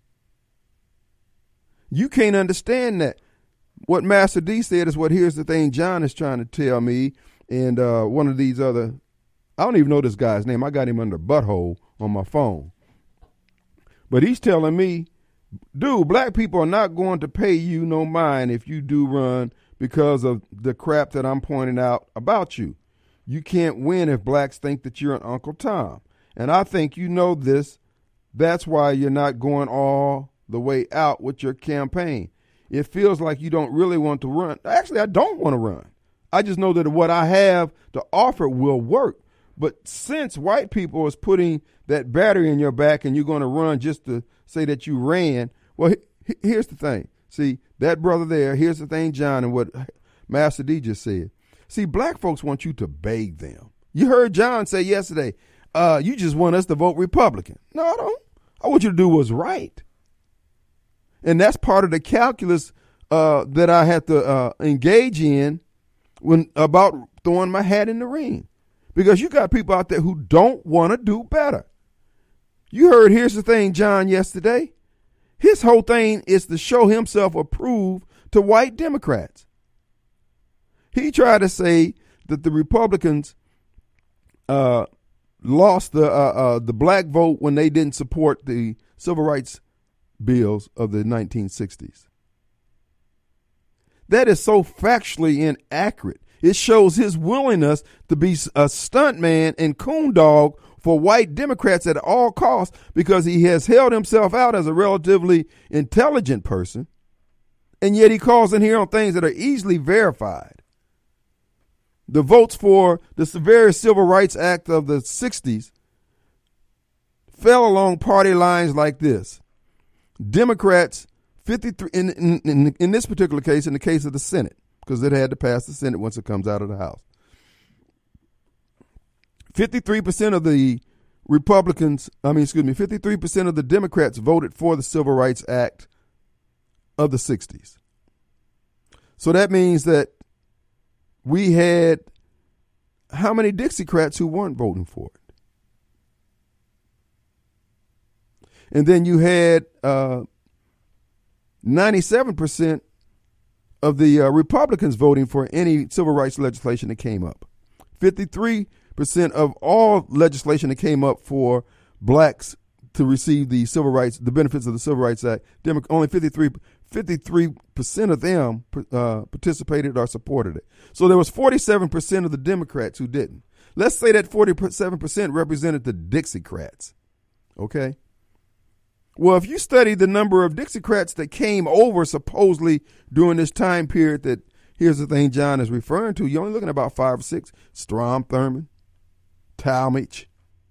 B: You can't understand that. What Master D said is what here's the thing John is trying to tell me, and uh, one of these other, I don't even know this guy's name. I got him under butthole on my phone. But he's telling me, dude, black people are not going to pay you no mind if you do run because of the crap that I'm pointing out about you. You can't win if blacks think that you're an Uncle Tom. And I think you know this. That's why you're not going all the way out with your campaign. It feels like you don't really want to run. Actually, I don't want to run. I just know that what I have to offer will work. But since white people is putting that battery in your back and you're going to run just to say that you ran, well, he, here's the thing. See, that brother there, here's the thing, John, and what Master D just said. See, black folks want you to beg them. You heard John say yesterday, uh, you just want us to vote Republican. No, I don't. I want you to do what's right. And that's part of the calculus uh, that I had to uh, engage in when about throwing my hat in the ring. Because you got people out there who don't want to do better. You heard, here's the thing, John, yesterday. His whole thing is to show himself approved to white Democrats. He tried to say that the Republicans uh, lost the uh, uh, the black vote when they didn't support the civil rights bills of the nineteen sixties. That is so factually inaccurate. It shows his willingness to be a stuntman and coon dog for white Democrats at all costs because he has held himself out as a relatively intelligent person, and yet he calls in here on things that are easily verified. The votes for the Severe Civil Rights Act of the sixties fell along party lines like this. Democrats, fifty-three in, in, in, in this particular case, in the case of the Senate, because it had to pass the Senate once it comes out of the House. fifty-three percent of the Republicans, I mean, excuse me, fifty-three percent of the Democrats voted for the Civil Rights Act of the sixties. So that means that we had how many Dixiecrats who weren't voting for it? And then you had uh, ninety-seven percent of the uh, Republicans voting for any civil rights legislation that came up. fifty-three percent of all legislation that came up for blacks to receive the civil rights, the benefits of the Civil Rights Act, Demo- only fifty-three percent of them uh, participated or supported it. So there was forty-seven percent of the Democrats who didn't. Let's say that forty-seven percent represented the Dixiecrats. Okay? Well, if you study the number of Dixiecrats that came over supposedly during this time period that, here's the thing John is referring to, you're only looking at about five or six. Strom Thurmond, Talmadge,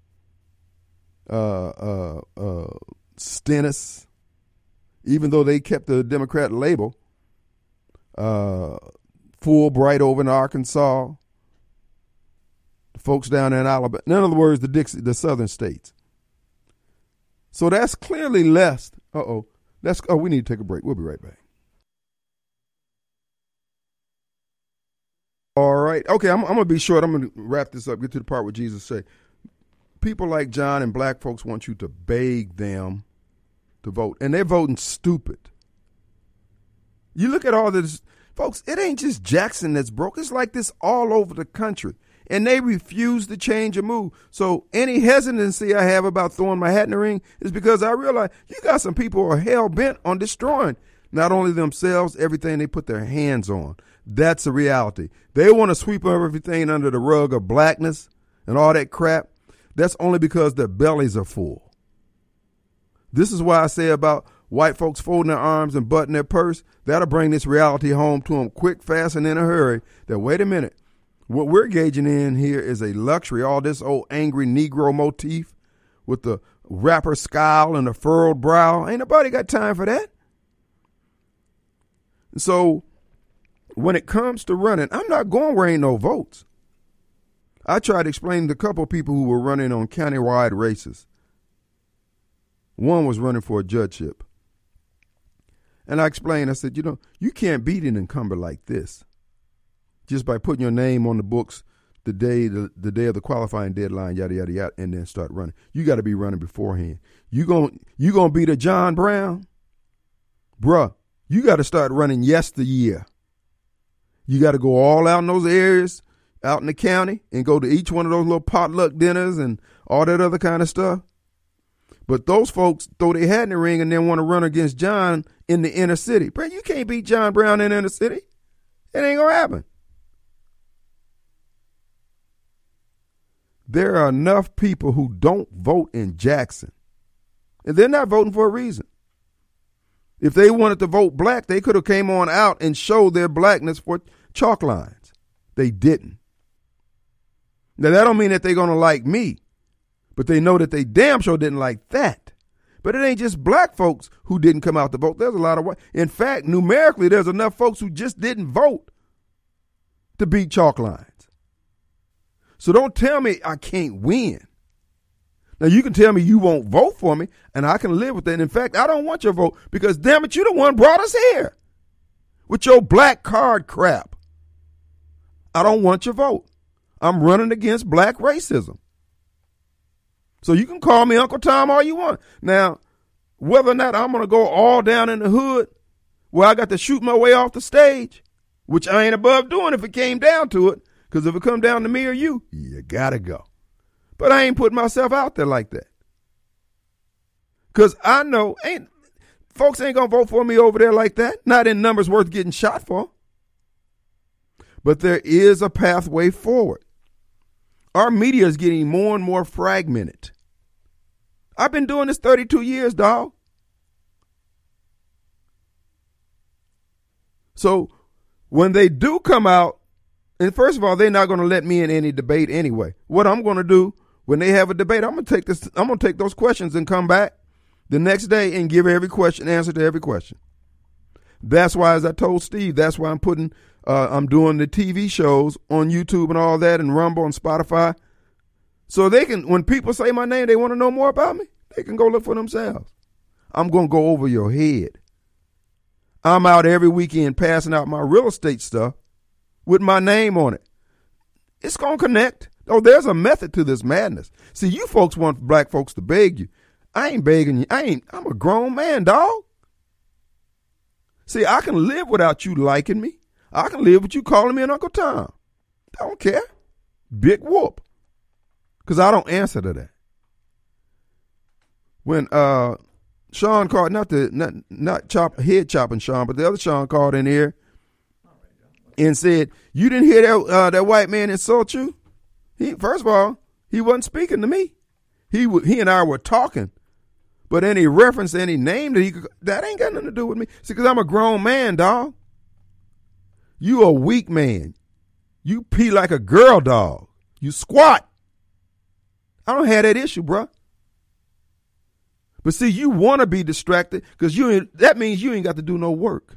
B: uh, uh, uh, Stennis, even though they kept the Democrat label, uh, Fulbright over in Arkansas, the folks down there in Alabama, in other words, the Dixie, the southern states. So that's clearly less. Uh-oh. That's, oh, we need to take a break. We'll be right back. All right. Okay, I'm, I'm going to be short. I'm going to wrap this up, get to the part where Jesus said, people like John and black folks want you to beg them to vote, and they're voting stupid. You look at all this, folks, it ain't just Jackson that's broke. It's like this all over the country, and they refuse to change a move. So any hesitancy I have about throwing my hat in the ring is because I realize you got some people who are hell-bent on destroying not only themselves, everything they put their hands on. That's a reality. They want to sweep everything under the rug of blackness and all that crap. That's only because their bellies are full. This is why I say about white folks folding their arms and buttoning their purse. That'll bring this reality home to them quick, fast, and in a hurry. That, wait a minute, what we're gauging in here is a luxury. All this old angry Negro motif with the rapper scowl and the furrowed brow. Ain't nobody got time for that. So when it comes to running, I'm not going where ain't no votes. I tried to explain to a couple of people who were running on countywide races. One was running for a judgeship. And I explained, I said, you know, you can't beat an incumbent like this just by putting your name on the books the day the, the day of the qualifying deadline, yada, yada, yada, and then start running. You got to be running beforehand. You gon' you gonna beat a John Brown? Bruh, you got to start running yesteryear. You got to go all out in those areas, out in the county, and go to each one of those little potluck dinners and all that other kind of stuff. But those folks throw their hat in the ring and then want to run against John in the inner city. Bro, you can't beat John Brown in the inner city. It ain't going to happen. There are enough people who don't vote in Jackson, and they're not voting for a reason. If they wanted to vote black, they could have came on out and showed their blackness for chalk lines. They didn't. Now, that don't mean that they're going to like me, but they know that they damn sure didn't like that. But it ain't just black folks who didn't come out to vote. There's a lot of white. In fact, numerically, there's enough folks who just didn't vote to beat chalk lines. So don't tell me I can't win. Now, you can tell me you won't vote for me, and I can live with that. And in fact, I don't want your vote because, damn it, you the one brought us here with your black card crap. I don't want your vote. I'm running against black racism. So you can call me Uncle Tom all you want. Now, whether or not I'm going to go all down in the hood where I got to shoot my way off the stage, which I ain't above doing if it came down to it, because if it come down to me or you, you got to go. But I ain't putting myself out there like that. Because I know ain't folks ain't going to vote for me over there like that. Not in numbers worth getting shot for. But there is a pathway forward. Our media is getting more and more fragmented. I've been doing this thirty-two years, dog. So when they do come out, and first of all, they're not going to let me in any debate anyway. What I'm going to do when they have a debate, I'm going to take this. I'm going to take those questions and come back the next day and give every question, answer to every question. That's why, as I told Steve, that's why I'm putting, uh, I'm doing the T V shows on YouTube and all that, and Rumble and Spotify, so they can. When people say my name, they want to know more about me. They can go look for themselves. I'm going to go over your head. I'm out every weekend passing out my real estate stuff with my name on it. It's going to connect. Oh, there's a method to this madness. See, you folks want black folks to beg you. I ain't begging you. I ain't, I'm a grown man, dog. See, I can live without you liking me. I can live with you calling me an Uncle Tom. I don't care. Big whoop. Because I don't answer to that. When uh, Sean called, not the not, not chop head chopping Sean, but the other Sean called in here and said, you didn't hear that uh, that white man insult you? He first of all, he wasn't speaking to me. He w- he and I were talking, but any reference to any name that he could, that ain't got nothing to do with me. See, because I'm a grown man, dog. You a weak man. You pee like a girl dog. You squat. I don't have that issue, bruh. But see, you want to be distracted because you ain't, that means you ain't got to do no work.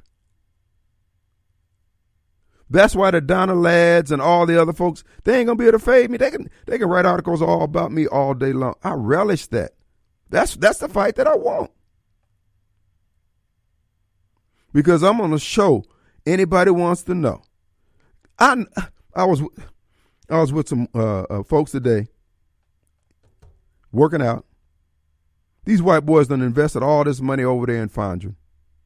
B: That's why the Donna Lads and all the other folks, they ain't gonna be able to fade me. They can they can write articles all about me all day long. I relish that. That's that's the fight that I want. Because I'm on a show anybody wants to know. I I was I was with some uh, uh, folks today working out. These white boys done invested all this money over there in Fondren.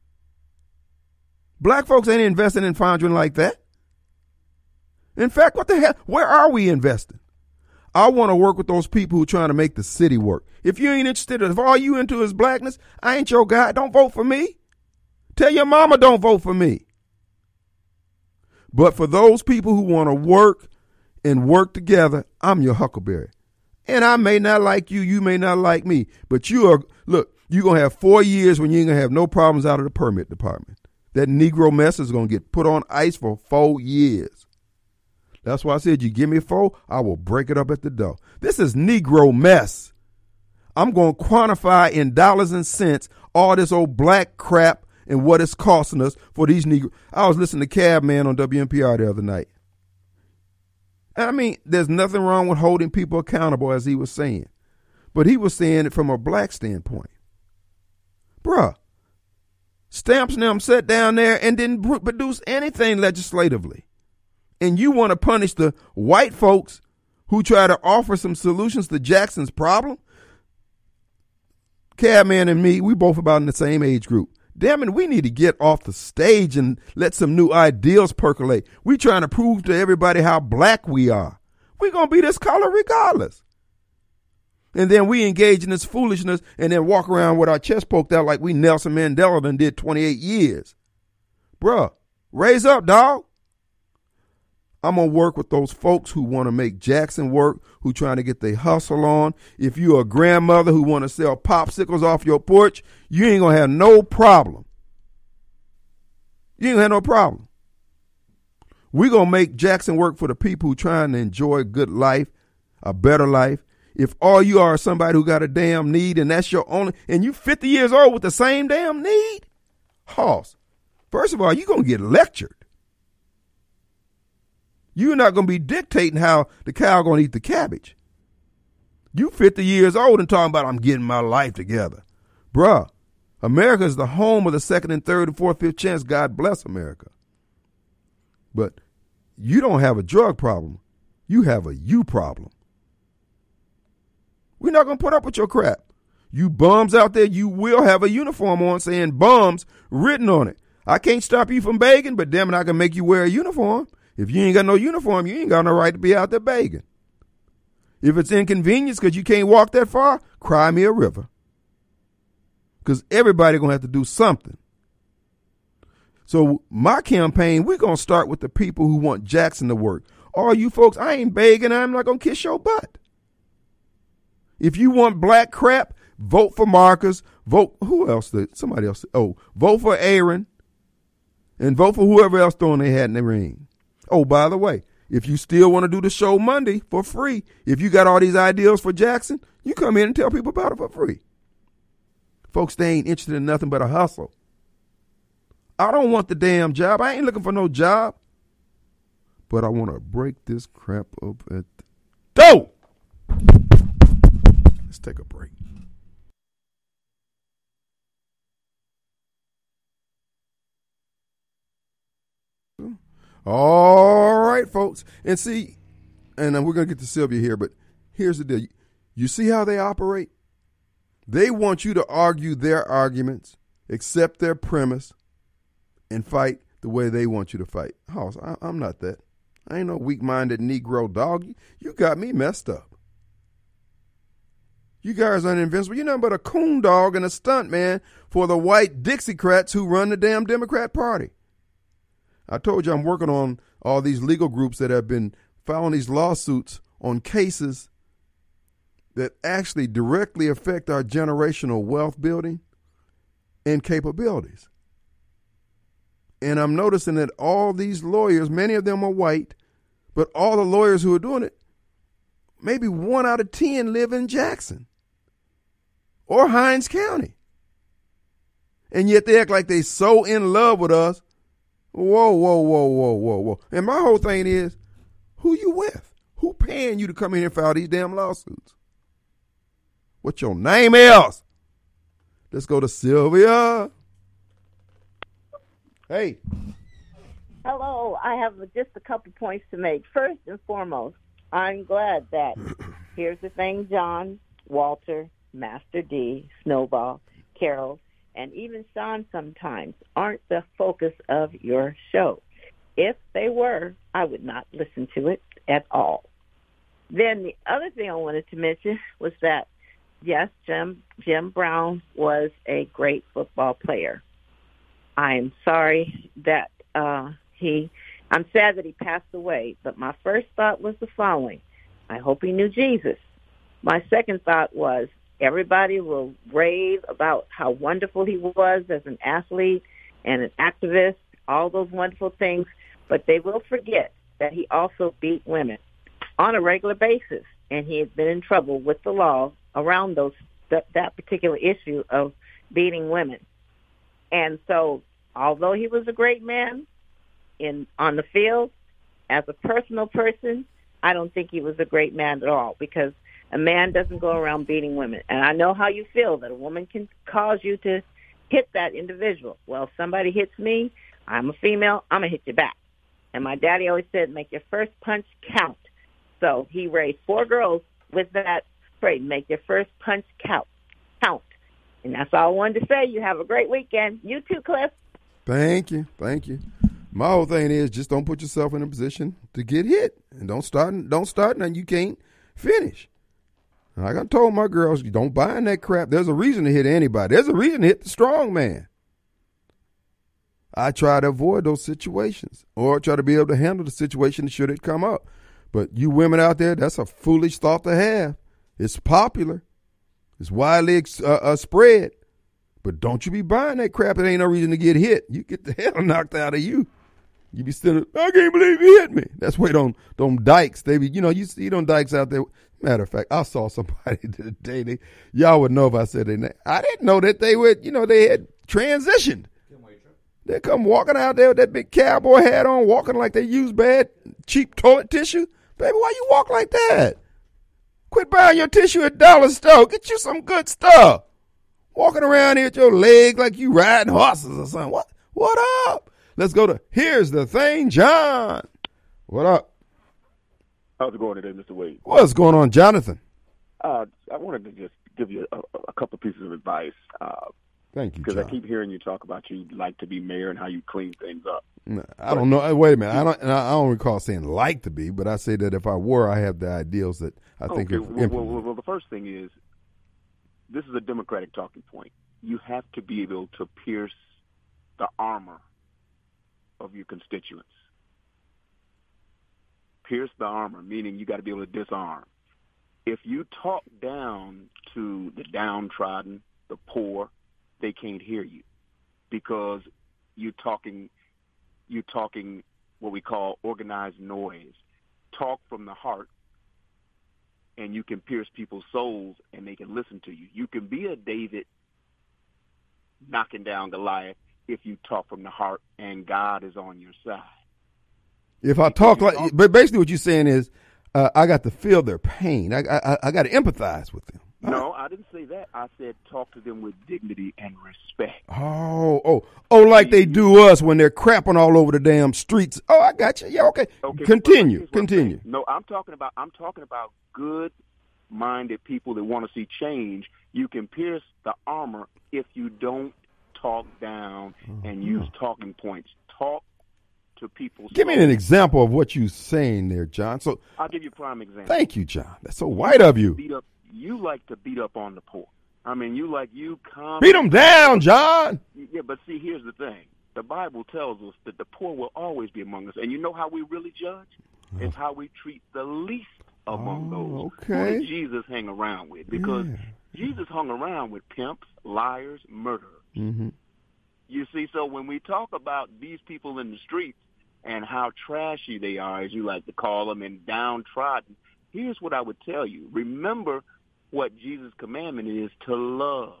B: Black folks ain't investing in Fondren like that. In fact, what the hell? Where are we investing? I want to work with those people who are trying to make the city work. If you ain't interested, if all you into is blackness, I ain't your guy. Don't vote for me. Tell your mama don't vote for me. But for those people who want to work and work together, I'm your huckleberry. And I may not like you, you may not like me, but you are, look, you're going to have four years when you ain't going to have no problems out of the permit department. That Negro mess is going to get put on ice for four years. That's why I said, you give me four, I will break it up at the door. This is Negro mess. I'm going to quantify in dollars and cents all this old black crap and what it's costing us for these Negroes. I was listening to Cab Man on W N P R the other night. I mean, there's nothing wrong with holding people accountable, as he was saying. But he was saying it from a black standpoint. Bruh, Stamps and them sat down there and didn't produce anything legislatively. And you want to punish the white folks who try to offer some solutions to Jackson's problem? Cabman and me, we both about in the same age group. Damn it, we need to get off the stage and let some new ideals percolate. We trying to prove to everybody how black we are. We're going to be this color regardless. And then we engage in this foolishness and then walk around with our chest poked out like we Nelson Mandela done did twenty-eight years. Bruh, raise up, dog. I'm going to work with those folks who want to make Jackson work, who trying to get their hustle on. If you're a grandmother who want to sell popsicles off your porch, you ain't going to have no problem. You ain't going to have no problem. We're going to make Jackson work for the people who trying to enjoy a good life, a better life. If all you are is somebody who got a damn need and that's your only, and you fifty years old with the same damn need, Hoss, first of all, you're going to get lectured. You're not going to be dictating how the cow going to eat the cabbage. You fifty years old and talking about I'm getting my life together. Bruh, America is the home of the second and third and fourth, fifth chance. God bless America. But you don't have a drug problem. You have a you problem. We're not going to put up with your crap. You bums out there, you will have a uniform on saying bums written on it. I can't stop you from begging, but damn it, I can make you wear a uniform. If you ain't got no uniform, you ain't got no right to be out there begging. If it's inconvenience because you can't walk that far, cry me a river. Because everybody going to have to do something. So my campaign, we're going to start with the people who want Jackson to work. All you folks, I ain't begging. I'm not going to kiss your butt. If you want black crap, vote for Marcus. Vote, who else? Did, somebody else. Oh, vote for Aaron. And vote for whoever else throwing their hat in the ring. Oh, by the way, if you still want to do the show Monday for free, if you got all these ideas for Jackson, you come in and tell people about it for free. Folks, they ain't interested in nothing but a hustle. I don't want the damn job. I ain't looking for no job. But I want to break this crap up at the door. Let's take a break. All right, folks. And see, and we're going to get to Sylvia here, but here's the deal. You see how they operate? They want you to argue their arguments, accept their premise, and fight the way they want you to fight. Hoss, I, I'm not that. I ain't no weak-minded Negro dog. You, you got me messed up. You guys aren't invincible. You're nothing but a coon dog and a stunt man for the white Dixiecrats who run the damn Democrat Party. I told you I'm working on all these legal groups that have been filing these lawsuits on cases that actually directly affect our generational wealth building and capabilities. And I'm noticing that all these lawyers, many of them are white, but all the lawyers who are doing it, maybe one out of ten live in Jackson or Hinds County. And yet they act like they so in love with us. Whoa, whoa, whoa, whoa, whoa, whoa. And my whole thing is, who you with? Who paying you to come in here and file these damn lawsuits? What your name is? Let's go to Sylvia. Hey.
I: Hello. I have just a couple points to make. First and foremost, I'm glad that here's the thing, John, Walter, Master D, Snowball, Carol, and even Sean sometimes aren't the focus of your show. If they were, I would not listen to it at all. Then the other thing I wanted to mention was that, yes, Jim, Jim Brown was a great football player. I am sorry that uh, he, I'm sad that he passed away, but my first thought was the following. I hope he knew Jesus. My second thought was, everybody will rave about how wonderful he was as an athlete and an activist, all those wonderful things, but they will forget that he also beat women on a regular basis, and he had been in trouble with the law around those that, that particular issue of beating women. And so although he was a great man in on the field, as a personal person, I don't think he was a great man at all, because a man doesn't go around beating women. And I know how you feel, that a woman can cause you to hit that individual. Well, if somebody hits me, I'm a female, I'm going to hit you back. And my daddy always said, make your first punch count. So he raised four girls with that phrase, make your first punch count. count. And that's all I wanted to say. You have a great weekend. You too, Cliff. Thank
B: you. Thank you. My whole thing is just don't put yourself in a position to get hit. And don't start don't start nothing you can't finish. Like I told my girls, you don't buy in that crap. There's a reason to hit anybody. There's a reason to hit the strong man. I try to avoid those situations or try to be able to handle the situation should it come up. But you women out there, that's a foolish thought to have. It's popular. It's widely uh, uh, spread. But don't you be buying that crap. It ain't no reason to get hit. You get the hell knocked out of you. You be still, I can't believe he hit me. That's why them, them dykes, they be, you know, you see them dykes out there. Matter of fact, I saw somebody today. They, y'all would know if I said their name. I didn't know that they would, you know, they had transitioned. They come walking out there with that big cowboy hat on, walking like they use bad, cheap toilet tissue. Baby, why you walk like that? Quit buying your tissue at Dollar Store. Get you some good stuff. Walking around here with your leg like you riding horses or something. What? What up? Let's go to Here's the Thing, John. What up?
J: How's it going today, Mister Wade?
B: What's going on, Jonathan?
J: Uh, I wanted to just give you a, a couple pieces of advice. Uh,
B: Thank you,
J: because
B: John.
J: I keep hearing you talk about you like to be mayor and how you clean things up.
B: I don't know. Wait a minute. I don't. I don't recall saying like to be, but I say that if I were, I have the ideals that I think.
J: Okay.
B: Are
J: well, well, well, well, the first thing is, this is a Democratic talking point. You have to be able to pierce the armor of your constituents. Pierce the armor, meaning you got to be able to disarm. If you talk down to the downtrodden, the poor, they can't hear you because you're talking, you're talking what we call organized noise. Talk from the heart, and you can pierce people's souls, and they can listen to you. You can be a David knocking down Goliath if you talk from the heart, and God is on your side.
B: If I talk like, but basically what you're saying is, uh, I got to feel their pain. I I, I got to empathize with them.
J: No, I didn't say that. I said talk to them with dignity and respect.
B: Oh, oh, oh, like they do us when they're crapping all over the damn streets. Oh, I got you. Yeah, okay. okay continue, continue.
J: No, I'm talking about I'm talking about good-minded people that want to see change. You can pierce the armor if you don't talk down and use talking points. Talk to people.
B: Give me an example of what you're saying there, John. So
J: I'll give you a prime example.
B: Thank you, John. That's so white of you.
J: Beat up. You like to beat up on the poor. I mean, you like you come
B: beat them down, John.
J: Yeah, but see, here's the thing: the Bible tells us that the poor will always be among us, and you know how we really judge? Oh. It's how we treat the least among
B: oh,
J: those.
B: Okay.
J: Who did Jesus hang around with? Because yeah. Jesus hung around with pimps, liars, murderers.
B: Mm-hmm.
J: You see, so when we talk about these people in the streets and how trashy they are, as you like to call them, and downtrodden, here's what I would tell you: remember what Jesus' commandment is, to love.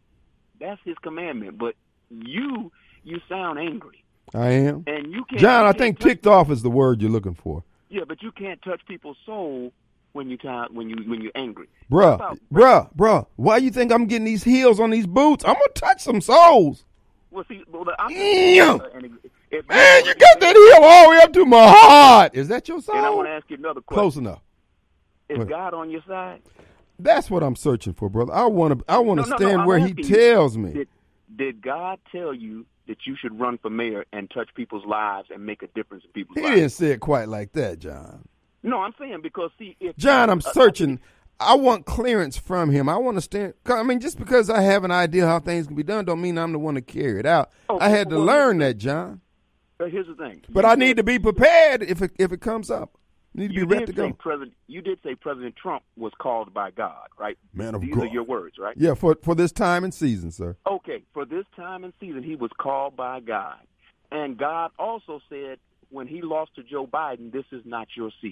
J: That's his commandment. But you, you sound angry.
B: I am.
J: And you can't,
B: John,
J: you
B: I
J: can't
B: think
J: touch,
B: ticked off is the word you're looking for.
J: Yeah, but you can't touch people's soul when you when you when you're angry.
B: Bruh,
J: about,
B: bruh, bruh. Why you think I'm getting these heels on these boots? I'm gonna touch some souls.
J: Well, see, well, I'm
B: yeah.
J: uh, and if,
B: Man, you got that heel all the way up to my heart. Is that your soul?
J: And I want to ask you another question.
B: Close enough.
J: Is Wait. God on your side?
B: That's what I'm searching for, brother. I want to. I want to
J: no, no,
B: stand
J: no,
B: where He tells me.
J: Did, did God tell you that you should run for mayor and touch people's lives and make a difference in people's
B: he
J: lives?
B: He didn't say it quite like that, John.
J: No, I'm saying because see, if
B: John, I'm
J: uh,
B: searching. I want clearance from Him. I want to stand. I mean, just because I have an idea how things can be done, don't mean I'm the one to carry it out.
J: Okay,
B: I had to
J: well,
B: learn that, John.
J: But here's the thing.
B: But
J: you
B: I need to be prepared if it if it comes up. You need to
J: you
B: be ready to
J: did say
B: go.
J: President, you did say President Trump was called by God, right?
B: Man of
J: These
B: God.
J: are your words, right?
B: Yeah, for for this time and season, sir.
J: Okay, for this time and season, he was called by God. And God also said when he lost to Joe Biden, this is not your season.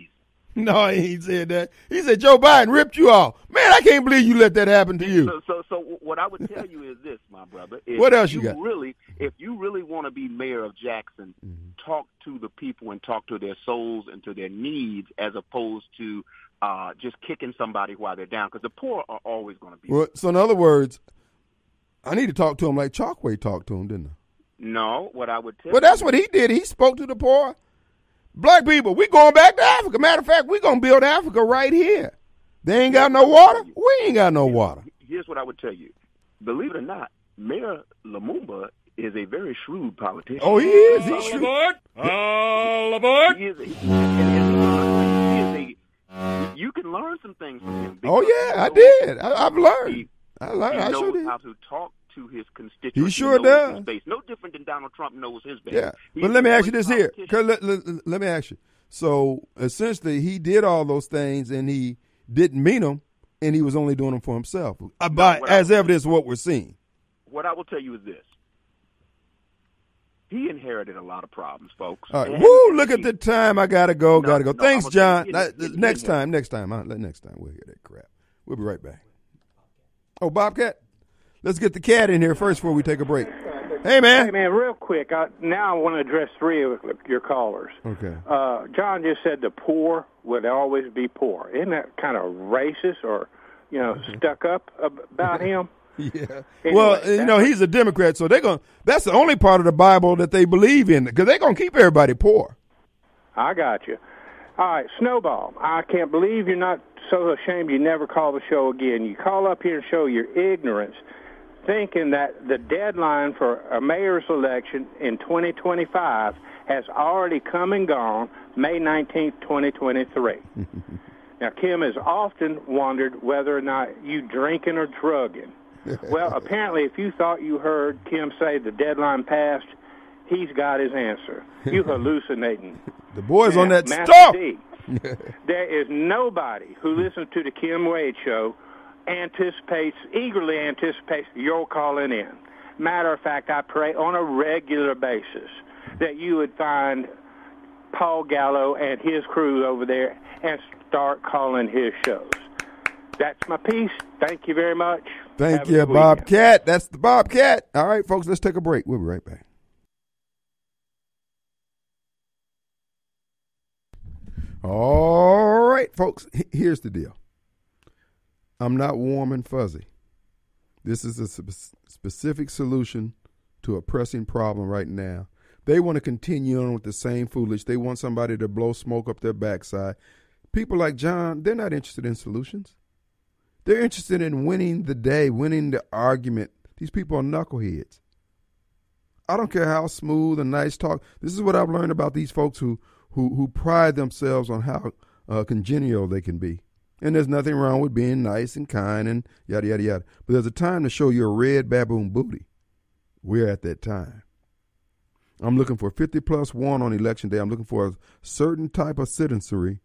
B: No, he ain't said that. He said Joe Biden ripped you off. Man, I can't believe you let that happen to you.
J: So, so, so what I would tell you is this, my brother. If
B: What else you
J: you
B: got?
J: Really, if you really want to be mayor of Jackson,
B: Mm-hmm.
J: talk to the people and talk to their souls and to their needs, as opposed to uh, just kicking somebody while they're down. Because the poor are always going to be.
B: Well, so in other words, I need to talk to him like Chalkway talked to him, didn't I?
J: No, what I would tell.
B: Well, that's what he did. He spoke to the poor. Black people, we going back to Africa. Matter of fact, we going to build Africa right here. They ain't got no water. We ain't got no water.
J: Here's what I would tell you. Believe it or not, Mayor Lumumba is a very shrewd politician.
B: Oh, he is. He's
H: All
B: shrewd.
H: aboard! All aboard!
J: He is a, he, and, and, he is a, you can learn some things from him.
B: Oh,
J: because
B: yeah, I
J: he knows-
B: did. I, I've learned.
J: He,
B: I learned.
J: he
B: I
J: knows
B: sure did.
J: how to talk to his constituents.
B: He sure
J: knows
B: does.
J: his base. No different than Donald Trump knows his base.
B: Yeah.
J: He's
B: But let me
J: a
B: ask you
J: great
B: this here.
J: politician.
B: 'Cause Let, let, let me ask you. So essentially, he did all those things and he didn't mean them, and he was only doing them for himself. Uh, by,
J: what I
B: as
J: would-
B: evidence of what we're seeing.
J: What I will tell you is this. He inherited a lot of problems, folks.
B: All right.
J: And-
B: Woo, look at the time. I got to go.
J: No,
B: got to go.
J: no,
B: Thanks,
J: I'm
B: John.
J: gonna-
B: That-
J: get- get-
B: next
J: get-
B: time, next time. Huh? Next time, we'll hear that crap. We'll be right back. Oh, Bobcat? Let's get the cat in here first before we take a break. Hey, man.
K: Hey, man, real quick. I, now I want to address three of your callers.
B: Okay.
K: Uh, John just said the poor would always be poor. Isn't that kind of racist or, you know, stuck up ab- about him?
B: Yeah.
K: Anyway,
B: well, you know, he's a Democrat, so they're going to, that's the only part of the Bible that they believe in, because they're going to keep everybody poor.
K: I got you. All right, Snowball, I can't believe you're not so ashamed you never call the show again. You call up here and show your ignorance, thinking that the deadline for a mayor's election in twenty twenty-five has already come and gone, May nineteenth, twenty twenty-three. Now, Kim has often wondered whether or not you drinking or drugging. Well, apparently, if you thought you heard Kim say the deadline passed, he's got his answer. You hallucinating.
B: The boys on
K: Now,
B: that
K: Master
B: stuff.
K: D, there is nobody who listens to the Kim Wade Show anticipates, eagerly anticipates your calling in. Matter of fact, I pray on a regular basis that you would find Paul Gallo and his crew over there and start calling his shows. That's my piece. Thank you very much.
B: Thank
K: Have a
B: you,
K: good weekend.
B: Bobcat. That's the Bobcat. All right, folks, let's take a break. We'll be right back. All right, folks, here's the deal. I'm not warm and fuzzy. This is a spe- specific solution to a pressing problem right now. They want to continue on with the same foolish. They want somebody to blow smoke up their backside. People like John, they're not interested in solutions. They're interested in winning the day, winning the argument. These people are knuckleheads. I don't care how smooth and nice talk. This is what I've learned about these folks who who, who pride themselves on how uh, congenial they can be. And there's nothing wrong with being nice and kind and yada, yada, yada. But there's a time to show your red baboon booty. We're at that time. I'm looking for fifty plus one on election day. I'm looking for a certain type of citizenry.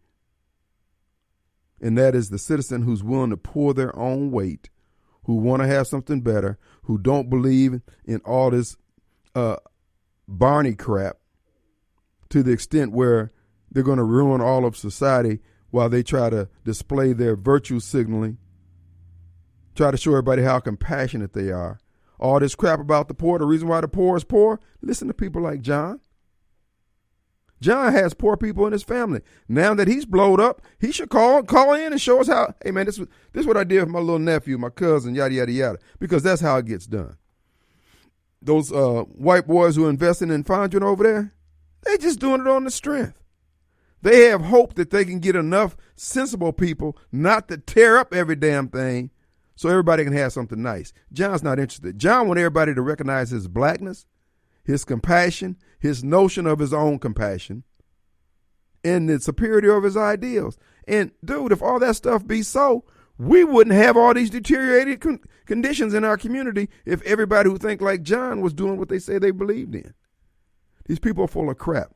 B: And that is the citizen who's willing to pull their own weight, who want to have something better, who don't believe in all this uh, Barney crap to the extent where they're going to ruin all of society while they try to display their virtue signaling, try to show everybody how compassionate they are. All this crap about the poor, the reason why the poor is poor, listen to people like John. John has poor people in his family. Now that he's blowed up, he should call call in and show us how, hey man, this, this is what I did with my little nephew, my cousin, yada, yada, yada, because that's how it gets done. Those uh, white boys who are investing in Fondren over there, they just doing it on the strength. They have hope that they can get enough sensible people not to tear up every damn thing so everybody can have something nice. John's not interested. John wants everybody to recognize his blackness, his compassion, his notion of his own compassion, and the superiority of his ideals. And, dude, if all that stuff be so, we wouldn't have all these deteriorated con- conditions in our community if everybody who think like John was doing what they say they believed in. These people are full of crap.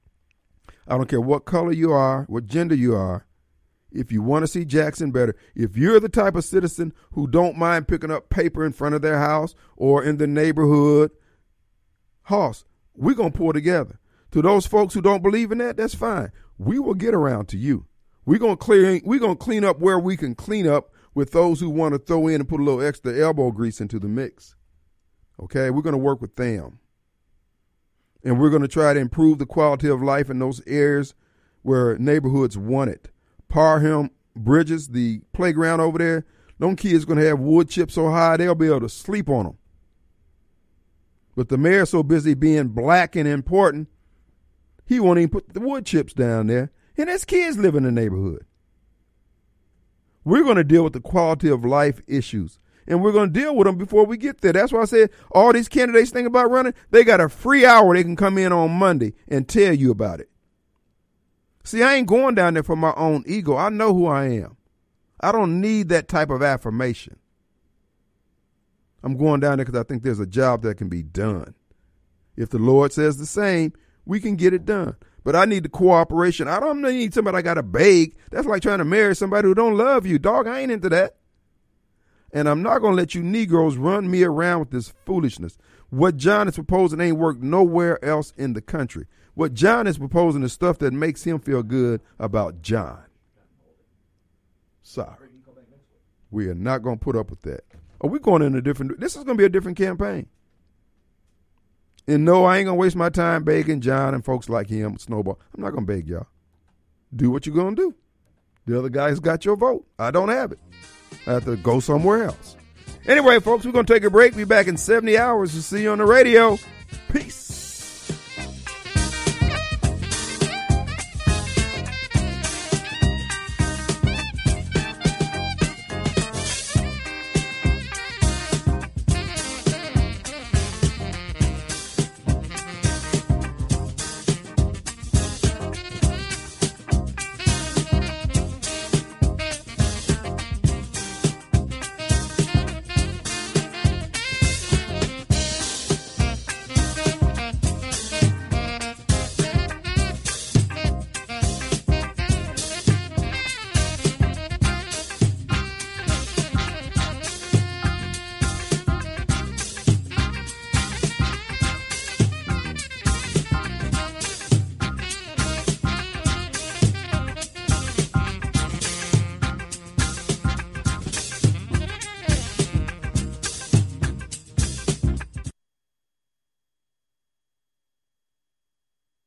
B: I don't care what color you are, what gender you are. If you want to see Jackson better, if you're the type of citizen who don't mind picking up paper in front of their house or in the neighborhood, Hoss, we're going to pull together. To those folks who don't believe in that, that's fine. We will get around to you. We're gonna clear. We're gonna clean up where we can clean up with those who want to throw in and put a little extra elbow grease into the mix. Okay, we're gonna work with them, and we're gonna try to improve the quality of life in those areas where neighborhoods want it. Parham Bridges, the playground over there, them kids gonna have wood chips so high they'll be able to sleep on them. But the mayor's so busy being black and important, he won't even put the wood chips down there. And there's kids live in the neighborhood. We're going to deal with the quality of life issues. And we're going to deal with them before we get there. That's why I said all these candidates think about running, they got a free hour they can come in on Monday and tell you about it. See, I ain't going down there for my own ego. I know who I am. I don't need that type of affirmation. I'm going down there because I think there's a job that can be done. If the Lord says the same, we can get it done. But I need the cooperation. I don't need somebody I got to beg. That's like trying to marry somebody who don't love you. Dog, I ain't into that. And I'm not going to let you Negroes run me around with this foolishness. What John is proposing ain't worked nowhere else in the country. What John is proposing is stuff that makes him feel good about John. Sorry. We are not going to put up with that. Are we going in a different, this is going to be a different campaign. And no, I ain't going to waste my time begging John and folks like him, Snowball. I'm not going to beg y'all. Do what you're going to do. The other guy's got your vote. I don't have it. I have to go somewhere else. Anyway, folks, we're going to take a break. Be back in seventy hours to see you on the radio. Peace.